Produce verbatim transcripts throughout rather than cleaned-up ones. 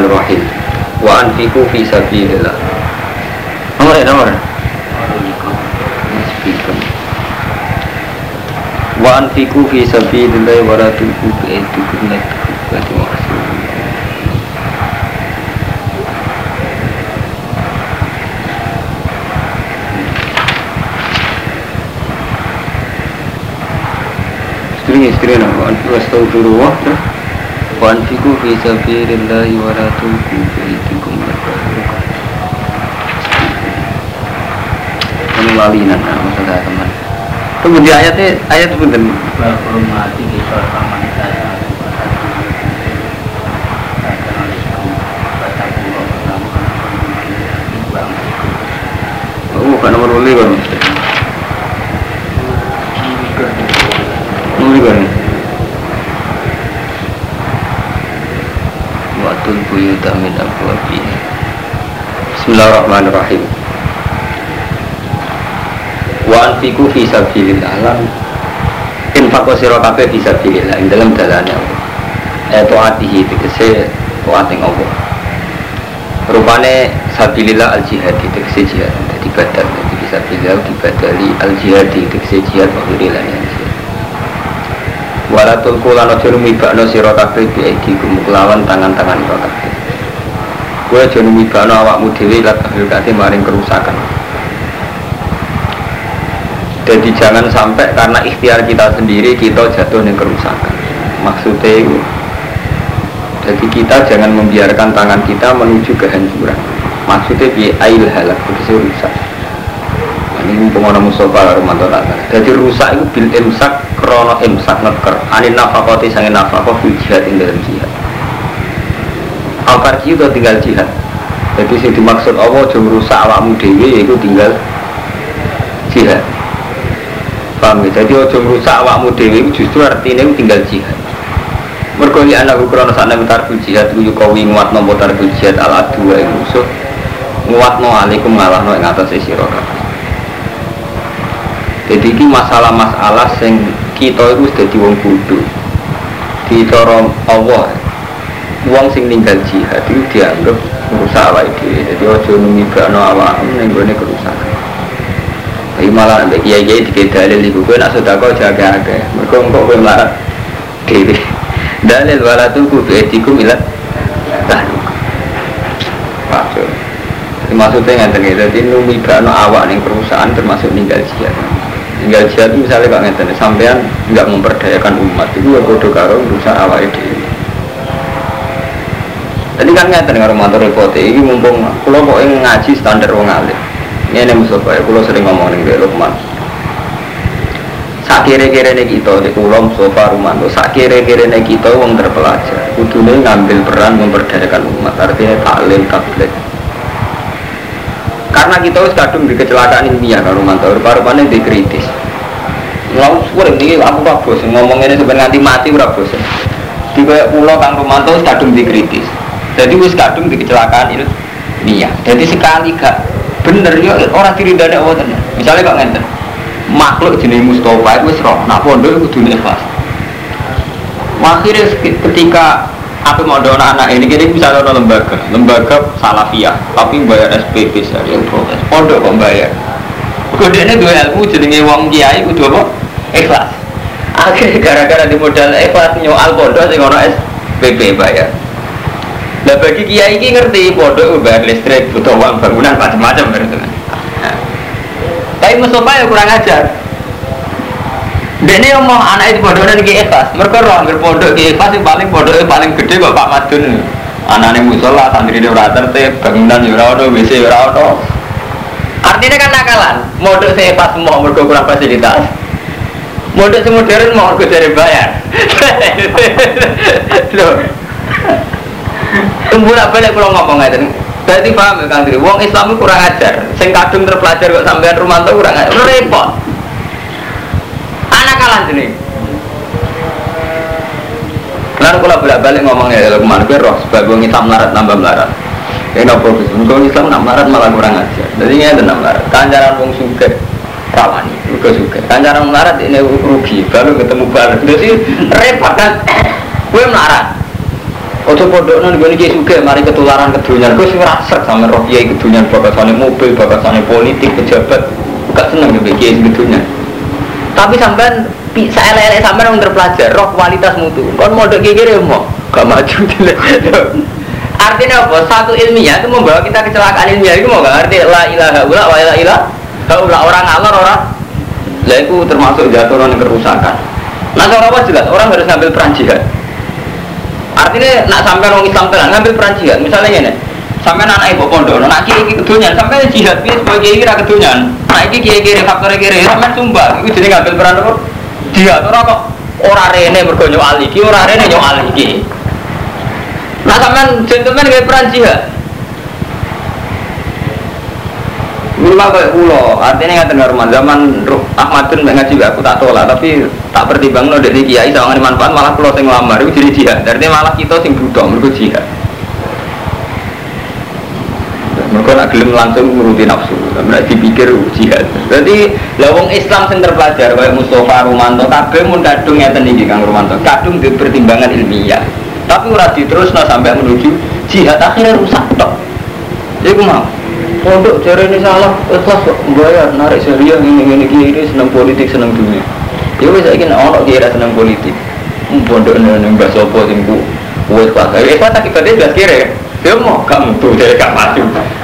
Bismillahirrahmanirrahim. Wa anfiqu fi sabilillah. Nomor nomor. Wa anfiqu fi sabilillah wa la tulqu bi aydikum ila tahlukah. Istri-istri nama anfiqu astaghfirullah wa anfiqu fi sabilillah wa la tulqu bi aydikum ila tahlukah. Ini lalinan masalah teman. Kemudian ayatnya ayat itu benar. Berhormati kita sama saya. Oh, bukan nomor boleh kan? Nomor kan? Watul buyuta min abwabiha. Bismillahirrahmanirrahim. Wa anfiqu fi sabilillah lan infaqo sira kabeh fi sabilillah ing dalem dalane Allah. Eh taatihi tegese taat ing Allah. Rupane sabilillah al jihad tegese jihad dadi badal dadi sabilillah dibadali al jihad tegese jihad waktu lan jihad. Walatul kula aja numibakno sira kabeh bi aidikum kelawan tangan-tangan sira kabeh. Kowe aja numibakno awakmu dhewe lan tahlukate maring kerusakan. Jadi jangan sampai karena ikhtiar kita sendiri kita jatuh di kerusakan. Maksudnya itu, jadi kita jangan membiarkan tangan kita menuju kehancuran. Maksudnya bi ail halak begitu rusak. Ini pengono Mustafa Romanto Tata. Jadi rusak itu bil imsak krono imsak neker. Anin nafakoti sange nafakot bil jihad ing dalam jihad. Al-Farji itu tinggal jihad. Jadi sing dimaksud Allah jom rusak awakmu dhewe yaitu tinggal jihad. Paham ya? Jadi ojo merusak awakmu dhewe justru artinya tinggal jihad. Mergo li ana ukrono sakne tarku jihad kuwi kawi nguatno tarku jihad ala dua ing musuh. Nguatno alaikum ngalahno ing atase sira kabeh. Jadi iki masalah-masalah sing kita iku wis dadi wong bodho. Di cara Allah wong sing ninggal jihad itu dianggap merusak awake dhewe. Jadi ojo numibakno awakmu ning gone kerusakan. Tapi malah nanti kiai-kiai dikira dalil ibu gue nak sodako jaga-jaga mereka engkau gue melarat dewi dalil walatuku bi'etikum ilat tahluk maksud maksudnya ngerti jadi numibano awak ning perusahaan termasuk ninggal jihad ninggal jihad itu misalnya kok ngerti sampean nggak memperdayakan umat itu ya bodoh karo berusaha awak dewi tadi kan ngerti dengan romantor repote ini mumpung kalau kok ngaji standar wong alim. Ini yang Mustafa ya, kalau sering ngomong dengan Lukman. Sak kira-kira ini kita di Pulau Mustafa Rumanto. Sak kira-kira ini kita orang terpelajar. Kudunya ngambil peran memperdayakan umat. Artinya taklim, tablet. Karena kita harus kadung di kecelakaan ilmiah kalau Rumanto. Rupa-rupanya dikritis. Lalu suara ini aku tak bosan ngomong ini sebenarnya nanti mati berapa bosan. Di Pulau Kang Rumanto kadung dikritis. Jadi wis kadung di kecelakaan ilmiah. Jadi sekali gak bener ya orang diri dada Allah tenan. Misalnya kok ngenten. Makhluk jenis Mustafa itu wis roh, nak pondok itu dunia ikhlas. Akhirnya ketika aku mau ada anak ini kini bisa ada lembaga, lembaga salafiyah, tapi bayar S P P sehari proses. Pondok kok bayar. Kodenya dua ilmu jenenge wong kiai kudu apa? Ikhlas. Akhirnya gara-gara di modal ikhlas nyoal pondok sing ono S P P bayar. Nah bagi kiai ini ngerti pondok bayar listrik, butuh uang bangunan macam-macam berarti. Nah. Tapi Mustafa ya kurang ajar. Dene omong anak itu pondoknya ki ikhlas. Mereka roh anggar pondok ki ikhlas yang paling pondoknya paling gede kok Pak Madun. Anaknya musola, santri dia ora tertib, bangunan ya ora ono, W C ya ora ono. Artinya kan nakalan. Pondok saya ikhlas semua mergo kurang fasilitas. Pondok sing modern mau mergo jare bayar. Loh. Tembulak balik kalau ngomong aja, berarti paham ya Kang Diri. Wong Islam itu kurang ajar, sing kadung terpelajar kok sampean Rumanto kurang ajar, repot. Anak kalah sini. Lalu kalau bolak balik ngomongnya kalau kemana roh sebagai wong Islam melarat nambah melarat. Ini nopo bisnis. Wong Islam nak melarat malah kurang ajar. Jadi ini ada melarat. Kanjaran wong suge rawani, juga suge. Kanjaran melarat ini rugi, baru ketemu baru. Jadi repot kan? Gue melarat. Ojo pondok nang ngene iki sugih mari ketularan kedonyan. Gus ora srek sampe roh kiai kedonyan bakasane mobil, bakasane politik, pejabat. Gak seneng yo kiai kedonyan. Tapi sampean saelek-elek sampean wong terpelajar, roh kualitas mutu. Kon mondok kiai kira mau gak maju dilek. Artinya apa? Satu ilmiah itu membawa kita kecelakaan ilmiah itu mau gak arti la ilaha illallah wa la ilaha illallah orang ngalor orang. Lah itu termasuk jatuh ke kerusakan. Nah cara apa jelas orang harus ngambil peran jihad. Artinya nak sampai orang Islam tenan ngambil peran jihad. Misalnya ini, sampai anak ibu pondok, nak kiri kiri kedonyan, sampai jihad dia sebagai kiri kiri kedonyan. Nah ini kiri kiri faktor kiri, sampai sumpah, itu jadi ngambil peran apa? Jihad orang kok orang rene bergonyo aliki, orang rene nyok aliki. Nah sampai gentleman ngambil peran jihad. Minimal kayak pulau, artinya nggak dengar zaman Ahmadun ngaji aku tak tolak, tapi tak pertimbang no dari kiai sama manfaat malah pulau sing lamar itu jadi jihad. Artinya malah kita sing budok mereka jihad. Mereka nak gelem langsung menuruti nafsu, mereka dipikir jihad. Jadi lawang Islam sing terpelajar kayak Mustafa Rumanto, kabeh mun kadung ngeten iki Kang Rumanto, kadung di pertimbangan ilmiah. Tapi ora diterusno sampai menuju jihad akhirnya rusak tok. Iku mau. Pondok cara ini salah, ikhlas kok bayar, narik syariah ini ini kiri senang politik senang dunia. Ya wes saya kira orang kira senang politik. Pondok ini nggak sopo tinggu, wes pas saya ikhlas tak kita dia kira, dia mau kamu tuh jadi kamu maju.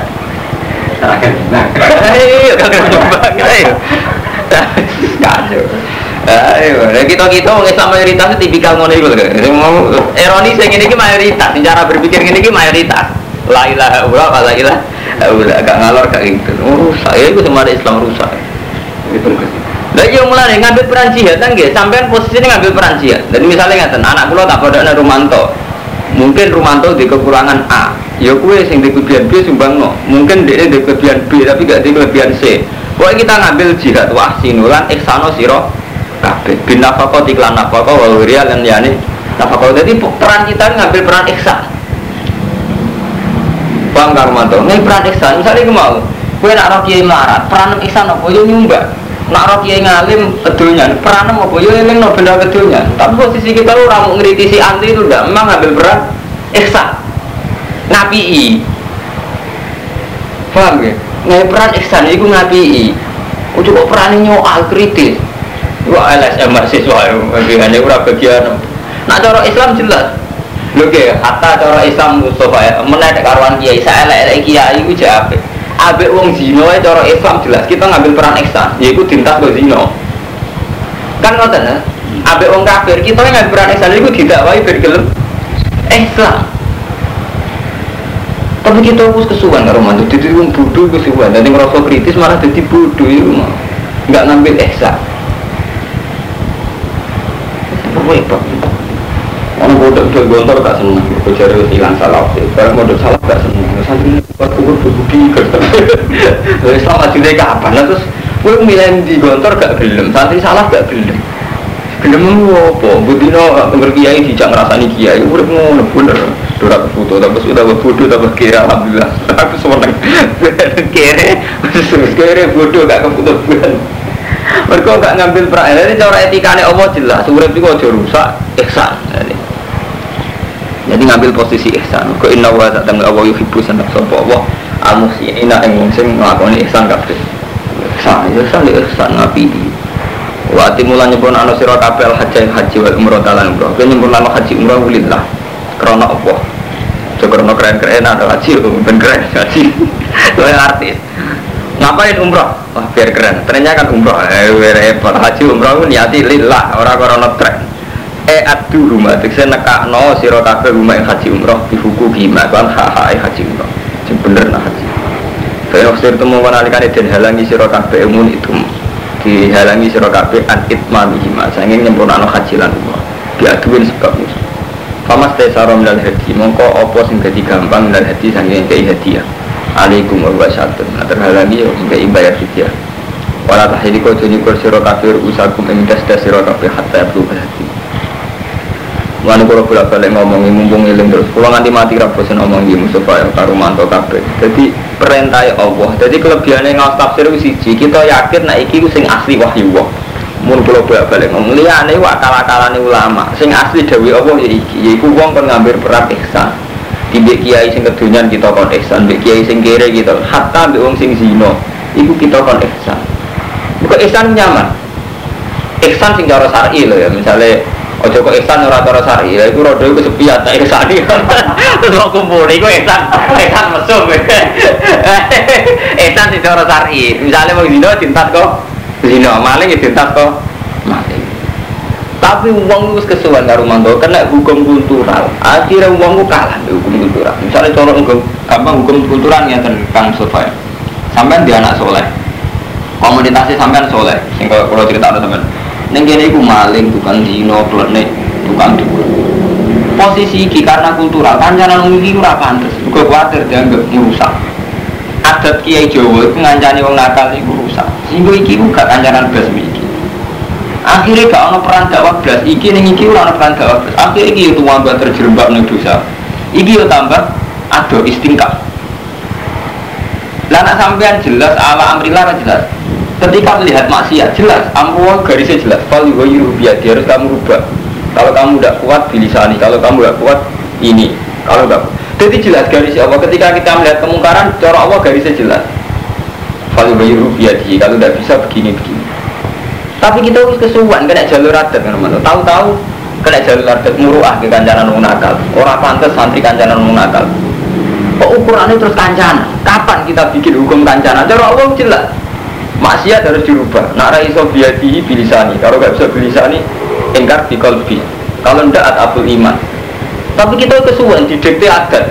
Nah, ayo kamu coba, ayo, kacau. Ayo, kita kita orang Islam mayoritas itu tipikal ngono itu kan. Ironis yang ini mayoritas, cara berpikir ini mayoritas. La ilaha illallah wa la ilaha illallah agak ngalor kayak gitu. Rusak ya itu semua Islam rusak. Itu kan. Lah yo mulane ngambil peran jihad kan nggih, sampean posisinya ngambil peran jihad. Jadi misalnya ngaten, anak kula tak padane Rumanto. Mungkin Rumanto di kekurangan A. Ya kuwe sing di kelebihan B sumbangno. Mungkin dia di kelebihan B tapi gak di kelebihan C. Pokoke kita ngambil jihad wahsinulan ihsano sira kabeh. Bin nafaqah iklan nafaqah wa ghiriya lan yani nafaqah. Jadi peran kita ngambil peran ihsan. Bang Karmanto, ini peran ihsan, misalnya aku mau gue nak roh kiai melarat, peran ihsan apa, yo nyumbang nak roh kiai ngalim, kedonyan, peran apa, yo eling no benda kedonyan. Tapi posisi kita lu ramu ngeritisi anti itu udah, memang ngambil peran ihsan ngapii paham ya? Ngambil peran ihsan, itu ngapii oh cukup peran nyoal kritis wah L S M mahasiswa, hanya kurang bagian nah cara Islam jelas lho nggih, hatta cara Islam Mustafa menaik karuan kiai saelek-elek kiai iku jek apik. Apik wong zina cara Islam jelas kita ngambil peran ihsan, yaiku dintas go zina. Kan ngoten, apik wong kafir kita ngambil peran ihsan iku didakwahi ben gelem Islam. Tapi kita wis kesuwen karo mantu, dadi wong bodho kesuwen, dadi ngrasa kritis malah dadi bodho iku mah. Enggak ngambil ihsan. Repot. Orang bodoh itu gontor gak seneng, kejar hilang salah. Orang bodoh salah gak seneng. Sampai buat kubur berbudi kertas. Islam hasilnya kapan? Terus gue milih di gontor gak gelem, santri salah gak gelem. Gelem apa? Budino berkiai dijak ngerasani kiai. Udah mau bener. Dorak foto, tapi sudah bodoh, tapi kira alhamdulillah. Aku seneng. Kere, kere bodoh gak keputusan. Mereka gak ngambil peran. Jadi cara etikanya Allah jelas. Urip itu aja rusak, ihsan. Jadi ngambil posisi ihsan. Kau inna wa ta'ala Allah yuhibbu sanad sapa Allah al-muhsinina ing wong sing nglakoni ihsan kabeh. Ihsan, ihsan ihsan ngapi. Wa timulan nyebut ana sira kabeh haji haji wal umrah talan umrah. Kene nyebut ana haji umrah lillah. Krana Allah. Jogono keren-keren ada haji ben keren haji. Kowe artis. Ngapain umrah? Wah biar keren. Ternyata kan umrah. Eh repot haji umrah niati lillah ora krana tren. Eh adu rumah, saya nekak no siro kafe rumah yang haji umroh di hukum gimana kan hahae haji umroh, yang bener nah haji. Saya waktu itu mau menalikan dan halangi siro kafe umun itu dihalangi siro kafe an itmami hima, saya ingin nyempurna no haji lan umroh, diaduin sebabnya. Famas tesarom dan hadi, mongko opo sing jadi gampang dan hadi sanggeng kei hadiah. Alaikum warahmatullahi wabarakatuh. Terhalangi yo kei bayar hadiah. Walau tahidi kau jadi siro kafe usakum emidas das siro kafe hatta abdu hadi. Lalu kalau bolak balik ngomongi mumpung iling terus, kalau nanti mati raposin ngomong di Mustafa yang karumanto kabeh. Jadi perintah Allah. Jadi kelebihannya ngawas tafsir itu siji. Kita yakin nak iki sing asli wahyu Allah. mun kula balik ngomong liyane akal-akalane ulama sing asli dawuh Allah ya iki yaiku wong kon ngambil peran ihsan mbek kiai sing kedonyan kita kon ihsan mbek kiai sing kere kita hatta mbek wong sing zina iku kita kon ihsan kok ihsan nyaman ihsan sing cara syar'i lho ya misale aja kok ihsan ora cara syar'i lha iku rada iku sepiat tak ihsani terus kok kumpul iku ihsan ihsan mesum ihsan sing cara syar'i misale wong zina dintat kok zina maling ya dintas kok maling tapi uang itu kesuwan karo mantu kena hukum kultural akhirnya uang itu kalah hukum kultural misalnya contoh hukum gampang hukum kultural yang Kang Sofa sampean dia anak soleh komunitasnya sampean soleh sehingga kalau cerita ada sampean neng kene iku maling tukang zina klenik tukang dukun posisi iki karena kultural kancanan iki ora pantes uga kuwatir dianggap merusak adat kiai Jawa itu ngancani wong nakal iku rusak. Sehingga iki uga kancanan blas iki. Akhire gak ana peran dakwah blas iki ning iki ora ana peran dakwah blas. Akhire iki yo tambah terjerembab ning dosa. Iki yo tambah ado istingkah. Lah nek sampean jelas ala amrillah jelas. Ketika melihat maksiat jelas, ampuh garisnya jelas. Fal yughayyiru bi harus kamu rubah. Kalau kamu tidak kuat bilisani, kalau kamu tidak kuat ini, kalau tidak jadi jelas garisnya Allah. Ketika kita melihat kemungkaran, cara Allah garisnya jelas. Kalau bayu biadi, kalau tidak bisa begini begini. Tapi kita harus kesuwan, kena jalur adat, teman-teman. Tahu-tahu kena jalur adat muruah ke kancanan wong nakal. Orang pantas santri kancanan wong nakal. Kok ukurannya terus kancanan? Kapan kita bikin hukum kancanan? Cara Allah jelas. Maksiat harus dirubah. Nak raiso biadi bilisani. Kalau nggak bisa bilisani, ingkar di kolbi. Kalau tidak atabul iman. Tapi kita kesuwen di dikte adat.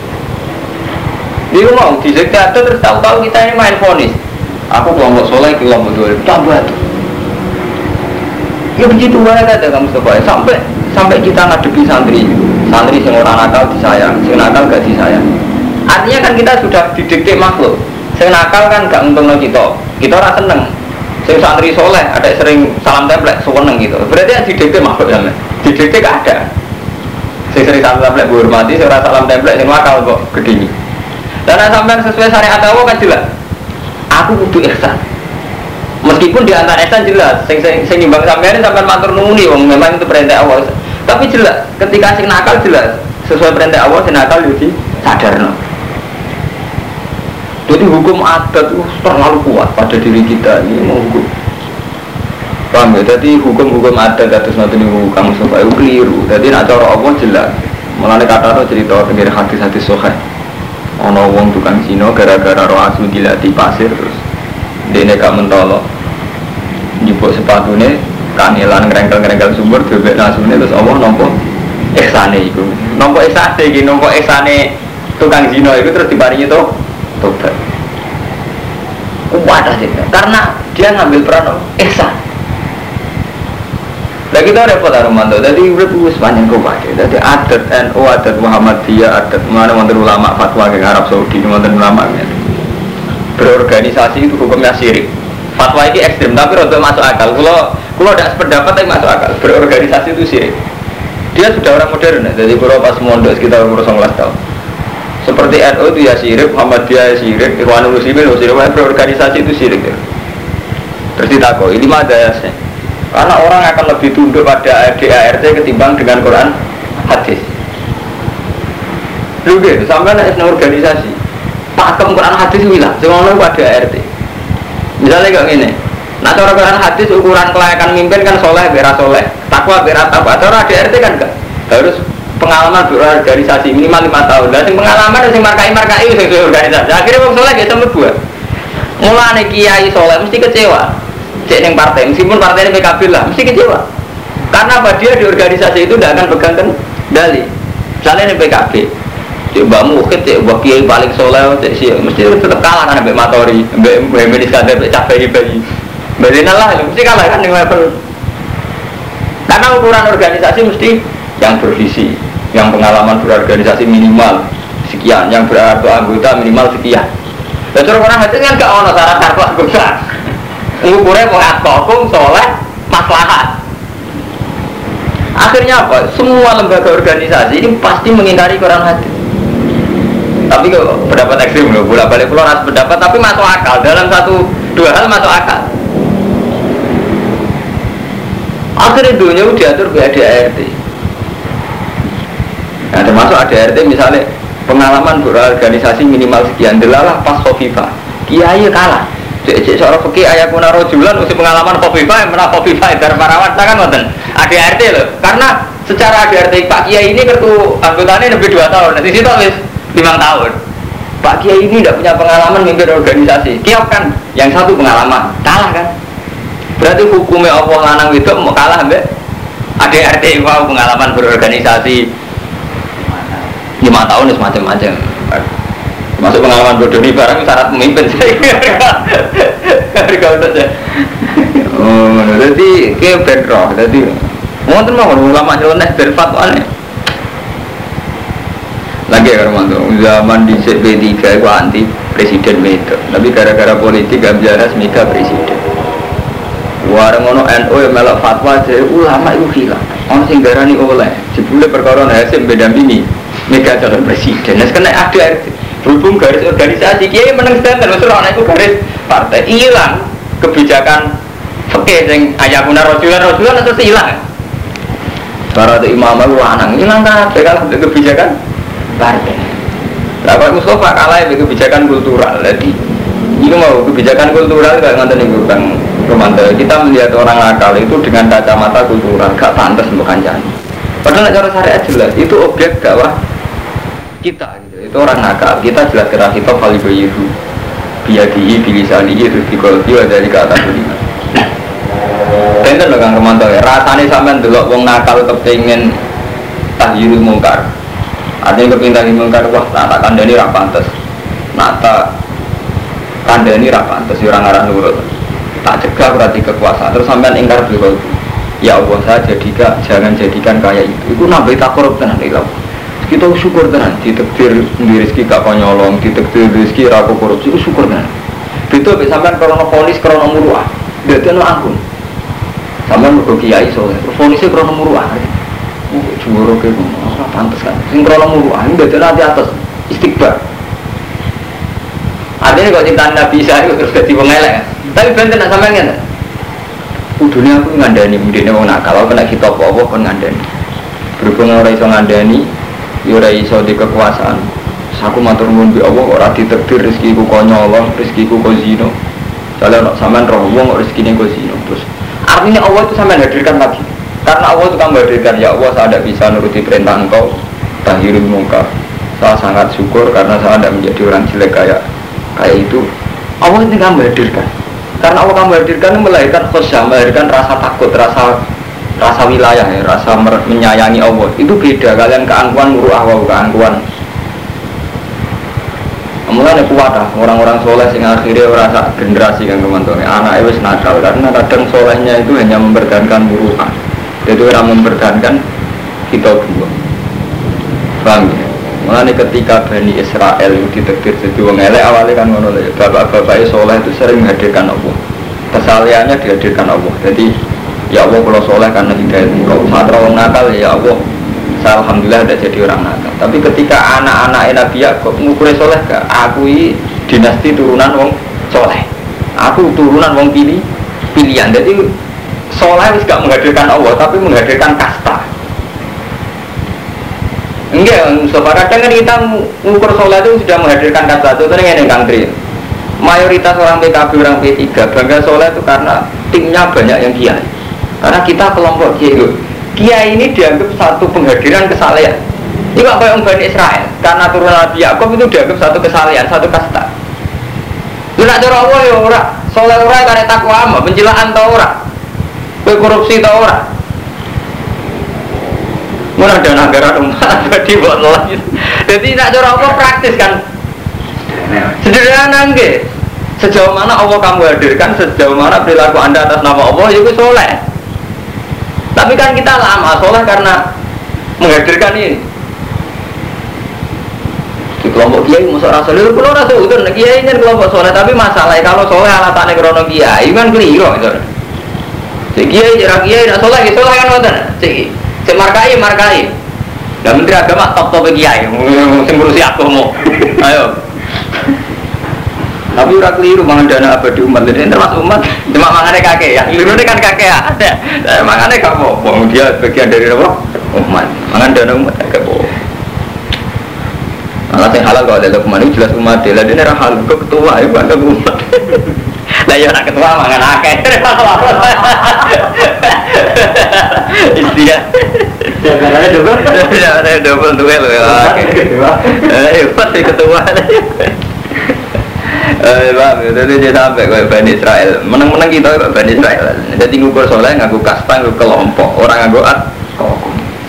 Dia mau di dikte adat terus tahu-tahu kita ini main fonis. Aku kelompok soleh, kelompok dua ribu tambah tuh. Ya begitu banyak ada kamu Mustafa. Sampai sampai kita ngadepi santri, santri yang orang nakal disayang, yang nakal gak disayang. Artinya kan kita sudah didikte makhluk. Yang nakal kan gak untung kita. Kita orang seneng. Yang santri soleh ada sering salam template, seneng gitu. Berarti yang didikte makhluk ya. Didikte gak ada. Saya sering salam template berhormati, saya rasa salam template yang makal kok gede. Dan sampai sesuai syariat Allah kan jelas. Aku butuh ihsan. Meskipun di antara ihsan jelas, sing sing sing nimbang sampeyan sampean matur nuwun wong memang itu perintah Allah. Tapi jelas, ketika sing nakal jelas sesuai perintah Allah, sing nakal yo disadarno. Jadi hukum adat itu terlalu kuat pada diri kita ini mau hukum. Paham ya? Jadi hukum-hukum adat atas nanti nih kamu supaya keliru. Jadi nak cara Allah jelas. Mulane kata itu cerita tentang hadis-hadis sahih. Ono wong tukang zina gara-gara roh asu dilatih pasir terus dene gak mentolo. Njupuk sepatune kangelan ngrengkel-ngrengkel sumur bebek nasune terus Allah nampa ihsane iku. Nampa ihsane iki, nampa ihsane tukang zina iku terus diparingi to tobat. Kuat aja karena dia ngambil peran ihsan. Lah kita repot Armando. Jadi urip wis panjang kok wae. Dadi adat N U, adat Muhammadiyah, adat mana wonten ulama fatwa ke Arab Saudi, wonten ulama ngene. Berorganisasi itu hukumnya syirik. Fatwa ini ekstrem tapi rada masuk akal. Kalau kalau tidak sependapat tapi masuk akal. Berorganisasi itu syirik. Dia sudah orang modern. Jadi kalau pas mondok sekitar umur sembilan belas tahun. Seperti N U itu ya syirik, Muhammadiyah ya syirik, Ikhwanul Muslimin ya syirik. Berorganisasi itu syirik. Terus ditakoi, ini ada ya. Karena orang akan lebih tunduk pada A D A R T ketimbang dengan Quran hadis. Lu gitu, sampai ada organisasi pakem Quran hadis wilah, semuanya pada A R T. Misalnya kayak gini, nah cara Quran hadis ukuran kelayakan mimpin kan soleh, beras soleh, takwa beras takwa. Cara A D A R T kan enggak, harus pengalaman berorganisasi minimal lima tahun. Dan pengalaman yang markai markai itu organisasi. Akhirnya orang soleh gak sampai buat. Mulai kiai soleh mesti kecewa. Cek neng partai, meskipun partai ini P K B lah, mesti kecewa. Karena apa dia di organisasi itu tidak akan pegang kendali. Misalnya ini P K B, cek Mbak Mukit, cek Mbak Kiai paling soleh, cek sih, mesti tetap kalah kan Mbak Matori, Mbak Mbak Iskandar, Mbak Cabai bayi, Mbak Zina lah, mesti kalah kan dengan level. Karena ukuran organisasi mesti yang bervisi, yang pengalaman berorganisasi minimal sekian, yang berarti anggota minimal sekian. Dan orang hati kan gak ono syarat-syarat anggota. Ukurnya mengatkokung soleh maslahat. Akhirnya apa? Semua lembaga organisasi ini pasti mengingkari Quran hadis. Tapi kok pendapat ekstrim loh, bolak balik pulau harus pendapat, tapi masuk akal dalam satu dua hal masuk akal. Akhirnya dunia udah diatur B A D A R T. Nah termasuk A D A R T misalnya pengalaman berorganisasi minimal sekian, delalah pas Khofifa kiai kalah. Cek seorang fakih ayah kuna rojulan usia pengalaman Khofifa yang pernah Khofifa dari parawan kan ngoten A D A R T loh. Karena secara A D A R T Pak Kiai ini kartu anggotanya lebih dua tahun, nanti situ habis lima tahun. Pak Kiai ini tidak punya pengalaman memimpin organisasi. Kiai kan yang satu pengalaman kalah kan. Berarti hukumnya Allah lanang itu mau kalah mbak A D A R T wow pengalaman berorganisasi lima tahun itu macam-macam. Masuk pengalaman bodoh ini barang syarat pemimpin saya. Kau tahu saya. Oh, jadi kayak bedroh. Jadi, mau tuh mau ulama nyeleneh berfatwa nih. Lagi ya Romanto, zaman di C P tiga itu anti presiden itu. Tapi gara-gara politik gak biasa semika presiden. Warang ono N U yang melak fatwa jadi ulama itu hilang. Orang singgarani oleh. Jebule perkara hasil beda bini. Mega calon presiden. Nah sekarang ada berhubung garis organisasi kiai menang standar maksud orang itu garis partai hilang kebijakan fakih yang ayah guna rojulan rojulan itu hilang para itu imam itu lanang hilang kan kalau kebijakan partai lah Pak Mustafa kalah ya kebijakan kultural jadi ini mau kebijakan kultural gak ngonten itu Bang Romanto kita melihat orang nakal itu dengan kacamata kultural gak pantas bukan jangan padahal cara syariat jelas itu objek dakwah kita gitu. Itu orang nakal kita jelas kira kita kali bayiru biadihi bilisanihi terus dikolbi dari ke atas lima enten lho Kang Romanto ya rasanya sampean delok wong nakal kepengin tahyirul mungkar artinya kepengin tahyirul mungkar wah tak kandhani ra pantes nata kandhani ra pantes ora ngaran nurut tak cegah berarti kekuasaan terus sampean ingkar bil ya Allah saya jadikan jangan jadikan kayak itu itu nambah takorup tenan ilau kita syukur tenan ditekdir di rezeki gak konyolong ditekdir rezeki ra korupsi syukur tenan itu sampean kalau polis krono muruah dadi ana ampun sampean mergo kiai soleh polisnya krono muruah oh jumuro ke ora pantes kan sing krono muruah dadi ana di atas istighfar adene kok cinta Nabi Isa itu terus dadi wong elek tapi benten sampean ngene kudune aku ngandani mendene wong nakal kena kita apa-apa kon ngandani berhubung ora iso ngandani ya ora iso di kekuasaan aku matur nuwun bi Allah ora ditakdir rezekiku konyolong rezekiku kok zina jale nek sampean roh wong kok rezekine kok zina terus artinya Allah itu sampean hadirkan lagi karena Allah itu kan hadirkan ya Allah saya tidak bisa nuruti perintah engkau tahirul mungkar saya sangat syukur karena saya tidak menjadi orang jelek kayak kayak itu Allah itu kan hadirkan karena Allah kan hadirkan melahirkan khusyuk melahirkan rasa takut rasa rasa wilayah ya, rasa menyayangi Allah itu beda kalian keangkuhan muruah wa keangkuhan mulanya kuat lah orang-orang soleh sehingga akhirnya rasa generasi yang teman-teman anak itu nakal karena kadang solehnya itu hanya mempertahankan muruah itu orang mempertahankan kita dua paham ya? Mulanya ketika Bani Israel itu ditakdir jadi wong elek awalnya kan ngono ya bapak-bapak soleh itu sering menghadirkan Allah kesalahannya dihadirkan Allah jadi ya Allah kalau soleh karena hidayat engkau saat orang nakal ya Allah saya alhamdulillah tidak jadi orang nakal tapi ketika anak-anak Nabi Yakub ngukurnya soleh gak aku ini dinasti turunan wong soleh aku turunan wong pilih pilihan jadi soleh itu gak menghadirkan Allah tapi menghadirkan kasta enggak Mustafa kadang kan kita ngukur soleh itu sudah menghadirkan kasta itu ternyata yang kantri mayoritas orang P K B orang P tiga bangga soleh itu karena timnya banyak yang kiai karena kita kelompok kiai kiai ini dianggap satu penghadiran kesalehan ini kok kayak Bani Israel karena turunan Nabi Yakub itu dianggap satu kesalehan, satu kasta lu nak cara Allah ya ora soleh ora karena takwa ama pencilaan tau ora korupsi tau ora murah dan negara rumah jadi buat lagi jadi nak cara Allah praktis kan sederhana enggak sejauh mana Allah kamu hadirkan sejauh mana perilaku anda atas nama Allah itu soleh tapi kan kita lama soleh karena menghadirkan ini di kelompok kiai musuh rasul itu kalau rasul itu kiai ini kelompok soleh tapi masalahnya kalau soleh alasannya krono kiai kan keliru itu si kiai jarak kiai nak soleh soleh kan nonton si si markai markai dan menteri agama top top kiai sing ngurusi aku mau ayo Tapi ora keliru mangan dana abadi umat. Jadi termasuk umat, cuma mangane kakek ya. Keliru kan kakek ya. Ada. Mangane gak apa-apa. Dia bagian dari apa? Umat. Mangan dana umat gak apa-apa. Malah yang halal kalau ada dokumen jelas umat dia. Lah dene ra halal kok ketua ya bukan umat. Lah ya nak ketua mangan akeh. Istilah. Jagarane double. Jagarane double tuh lho ya. Eh, pasti ketua. Eh, bang, jadi dia sampai ke Bani Israel. Menang-menang kita ke Bani Israel. Jadi ngukur soleh ngaku kasta, ngaku kelompok. Orang ngaku at kokum.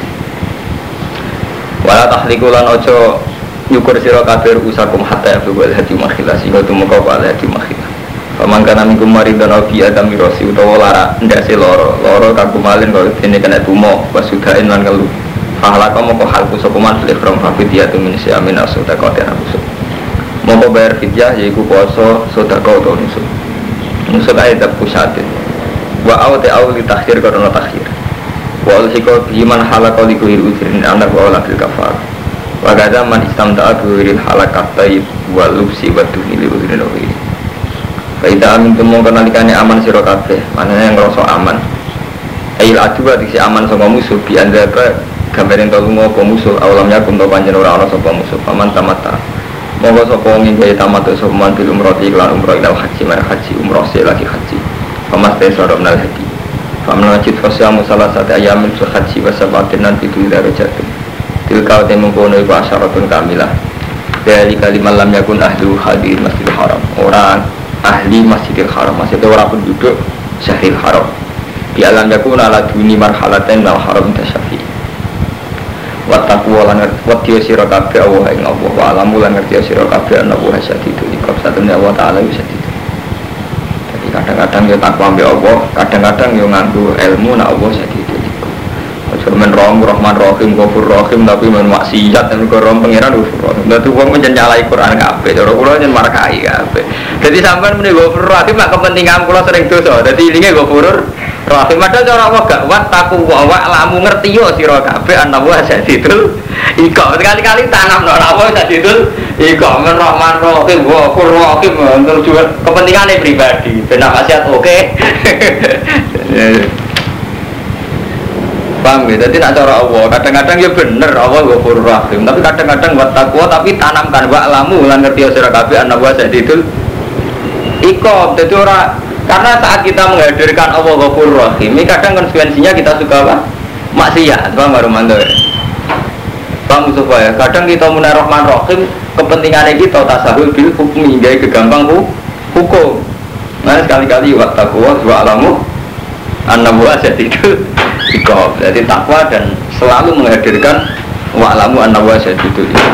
Wala tahlikulan ojo nyukur sira kabeh usakum hatta yabul hadi makhilah sing ketemu kau ala hadi makhilah. Pamangkana minggu mari dan obi adam mirosi utawa lara ndase loro loro kaku malin kalau dene kena tumo wasudain lan ngelu. Fahala kamu kok halku sokuman fil from fafidiyatu min siamin asudaqatin abusuk. Mau bayar fidyah yaitu poso sedekah atau nusuk. Nusuk ayat pusatin. Wa awte awli takhir karena takhir. Wa ulhiko biman halakau likuhir ujirin anak wa awla bil kafar. Wa gada man istamta'a biwiril halakat taib wa lubsi wa duhni li ujirin ujirin. Kaita amin tumong kenalikane aman siro kabeh. Mananya yang ngerasa aman. Ail aduwa diksi aman sama musuh. Bi anda ke gambarin tolungo apa musuh. Awalamnya kumto panjen orang-orang sama musuh. Paman tamata. Monggo sapa wong ingkang tamat sapa man bil umrah iklan umrah ilal haji mar haji umrah lagi haji. Pamas te sora menal haji. Paman wajib fasya musalah sate ayamin sul haji wa sabatin nanti tu ila rajatun. Tilka te mengkono iku asyaratun kamilah. Dari kalimat lam yakun ahlu hadir Masjidil Haram. Orang ahli Masjidil Haram, maksudnya orang penduduk Syahril Haram. Di alam yakun ala duni marhalatain wal haram tasyafi. Wataku lan wadiyo sira kabeh Allah ing Allah wa alamu lan ngerti sira kabeh ana wa syadidul iqab satune Allah taala wis syadid. Jadi kadang-kadang yo takwa mbek Allah, kadang-kadang yo nganggo ilmu nek Allah syadidul iqab. Aja men Rahman Rahman Rahim Ghafur Rahim tapi men maksiat dan korom pangeran Ghafur Rahim. Dadi wong men nyalai Quran kabeh, cara kula nyen markai kabeh. Dadi sampean muni Ghafur Rahim mak kepentingan kula sering dosa. Dadi ilinge Ghafur Rahim ada cara wa gak wat taku wa wa lamu ngerti yo sira kabeh ana wa sadidul iko sekali-kali tanam ora wa sadidul iko men Rahman Rahim wa Rahim untuk juga kepentingane pribadi ben maksiat oke. Paham ya, jadi nak cara Allah kadang-kadang ya bener Allah Ghafurur Rahim tapi kadang-kadang wat takwa tapi tanamkan wa lamu lan ngerti yo sira kabeh ana wa sadidul iko dadi ora. Karena saat kita menghadirkan Allah Ghafurur Rahim, ini kadang konsekuensinya kita suka apa? Maksiat, Bang Marumanto ya. Bang Mustafa ya, kadang kita munah Rahman Rahim, kepentingannya kita tasahul bil hukmi, hingga kegampang hukum. Nah sekali-kali wa taqwa wa alamu annahu asyadidul iqab. Jadi takwa dan selalu menghadirkan wa alamu annahu asyadidul iqab.